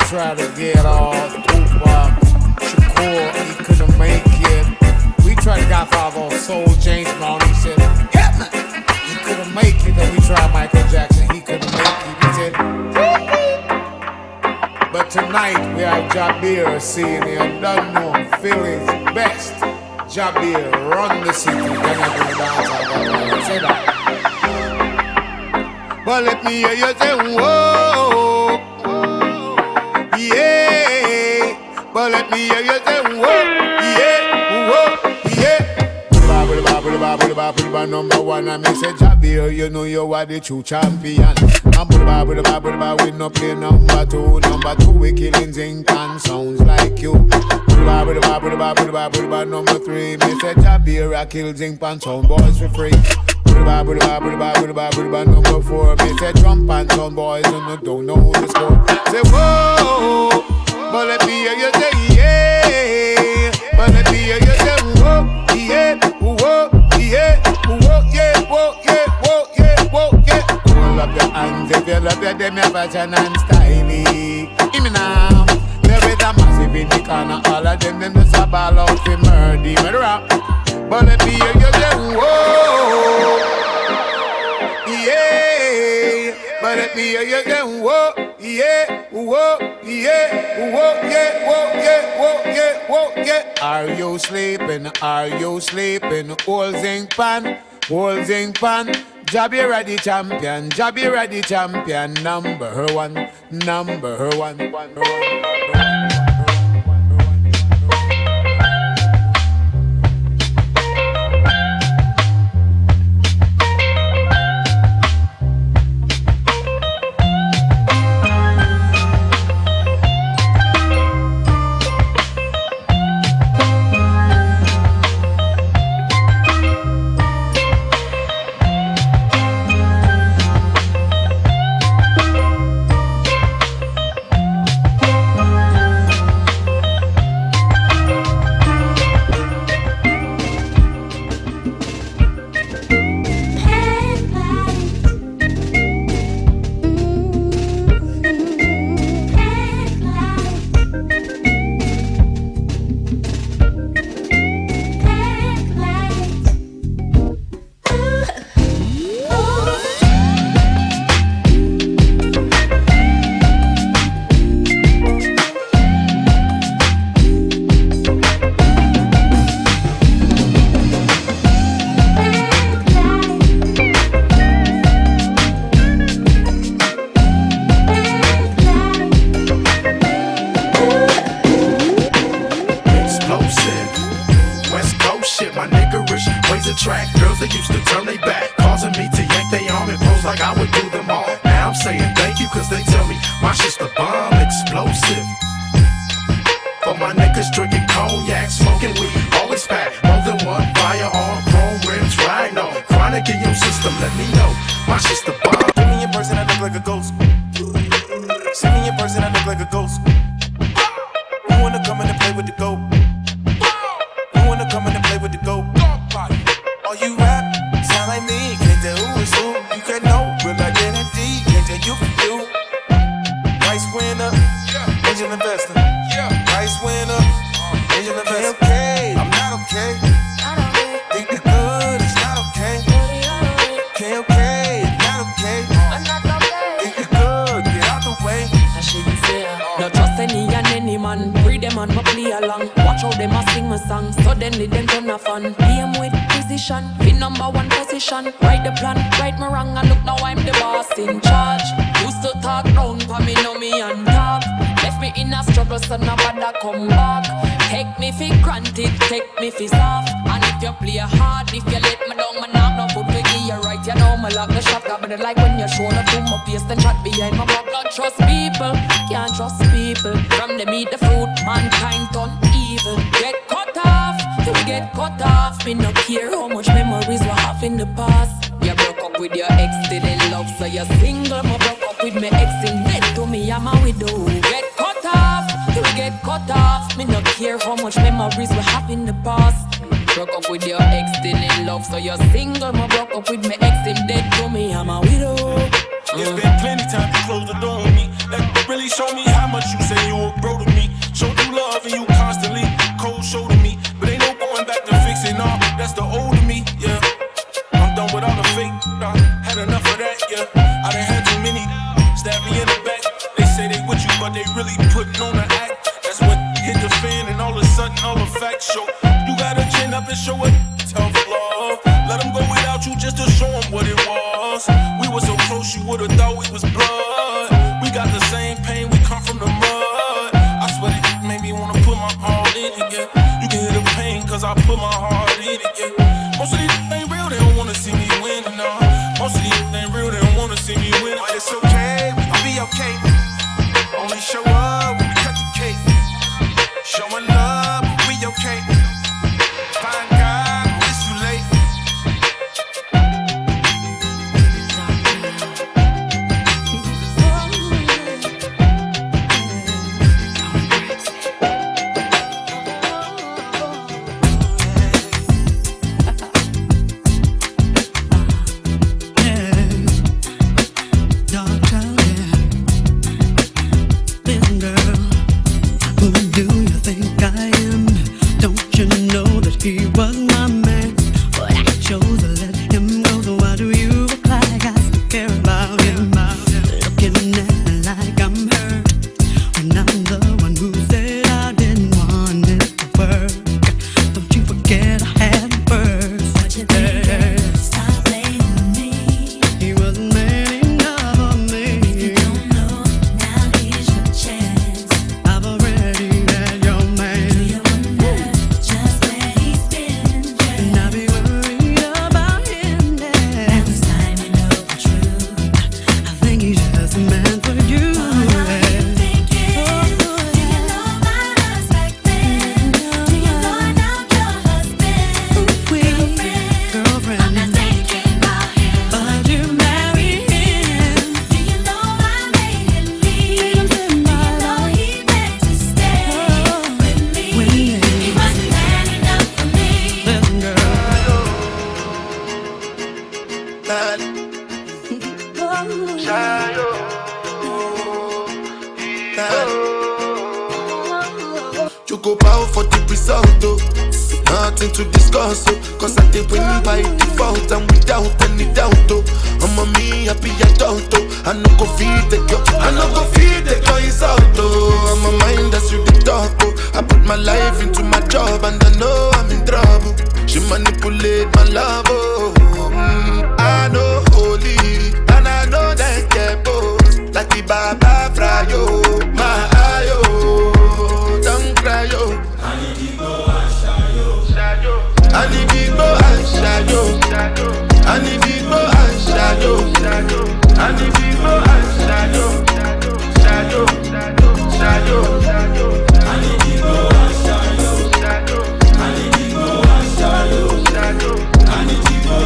Speaker 3: tried to get all Tupac, Shakur, he couldn't make it. We tried to get Godfather Soul James Brown, he said, "Hit me!" He couldn't make it. Then we tried Michael Jackson, he couldn't make it. He said, but tonight we have Jabir seeing the unknown, Philly's best. Jabir, run the city. Then I do the dance, I say that. But let me hear you say, whoa, yeah. But let me hear you say, whoa, yeah, whoa, yeah. Number one, I may say Jabir, you know you are the true champion. And we no play number two. Number two, we killing zinc and sounds like you. Number three, me say Jabir, I kill zinc and sound boys for free. Number four, me say Trump and sound boys and don't know the score. Say whoa, but let me hear you say yeah. But let me hear you say whoa, yeah, whoa, yeah, whoa, yeah, whoa, yeah, whoa, yeah, whoa, yeah. Hold up your hands if you love your them your fashion and styling. Give me now. There is a massive in the corner, all of them just a ball out for murder. But let me hear you say whoa, yeah. But let me hear you say whoa, yeah, whoa, yeah, whoa, yeah, whoa, yeah, whoa, yeah, whoa, yeah. Are you sleeping? Are you sleeping? Old zinc pan, old zinc pan. Jabir the champion, Jabir the champion. Number one, number one.
Speaker 4: It's been plenty time to close the door on me. That really show me how much you say wanna act. That's when hit the fan and all of a sudden all the facts show. You gotta chin up and show it tough love. Let them go without you just to show them what it was. We were so close you would've thought we was blood. We got the same pain, we come from the mud. I swear it made me wanna put my all in again. You can hear the pain cause I put my heart in again. Most of these ain't real, they don't wanna see me win, no. Most of these ain't real, they don't wanna see me win.
Speaker 7: But it's okay, we can be okay. Only show up when we cut the cake. Showing love, but we okay. Find God, it's too late.
Speaker 9: He was my man, but I chose to let him go. So why do you act like I still care about him? Looking at me like I'm hurt when I'm the one who said I didn't want it to work. Don't you forget I had him first. What you think? Stop blaming me. He wasn't man enough for me. If you don't know, now here's your chance. I've already had your man. Do you wonder just where? And I'll be worried about him now. And this time you know the truth. I think he's just a man for you. What are you thinking? Do you know my husband? Do you know I'm your husband? Girlfriend. I'm not thinking about him, but you marry him. Do you know I made him leave? Do you know he meant to stay with me? He wasn't man enough for me. Listen, girl.
Speaker 21: You go bow for the result, oh. Nothing to discuss, oh. Cause I did win by default and without any doubt, oh. I'm a me happy adult, oh. I no go feed the girl, I no go feed the girl insult, oh. I'm a mind that's you the talk, oh. I put my life into my job and I know I'm in trouble. She manipulate my love, oh. I know holy and I know that get both. Like the Baba Frayo, my ayo. Don't cry, yo. I need to go and shadow. I need to go and shadow. I need to go and shadow. I need to go and shadow. Shadow. I need to go and shadow. I need to go and shadow. I need to go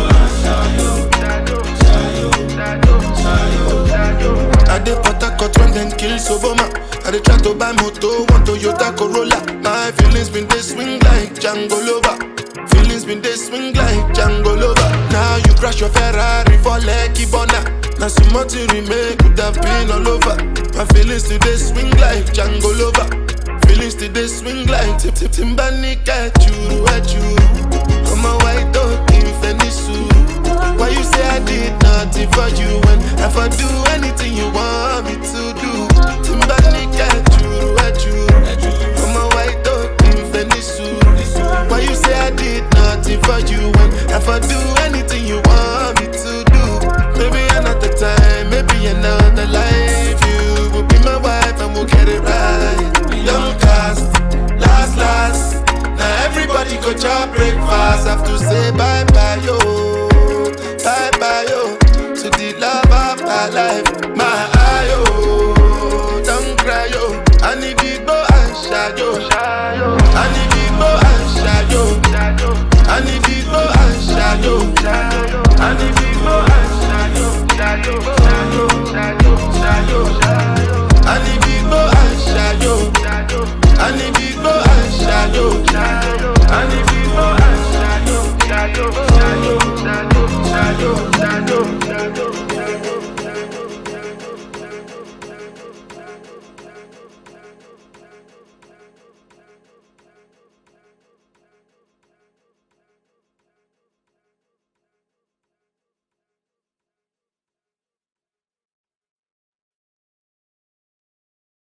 Speaker 21: and shadow. I dey Port Harcourt when them kill Soboma. I dey try to buy moto, one Toyota Corolla. My feelings been they swing like Django Lover. Feelings been they swing like Django Lover. Now you crash your Ferrari for Lucky Bona. Now some more to remake could have been all over. My feelings today swing like Django Lover. Feelings today swing like Timbani at you. Come on, white dog in Fenisu. Why you say I did nothing for you when if I do anything you want me to do? Timbani at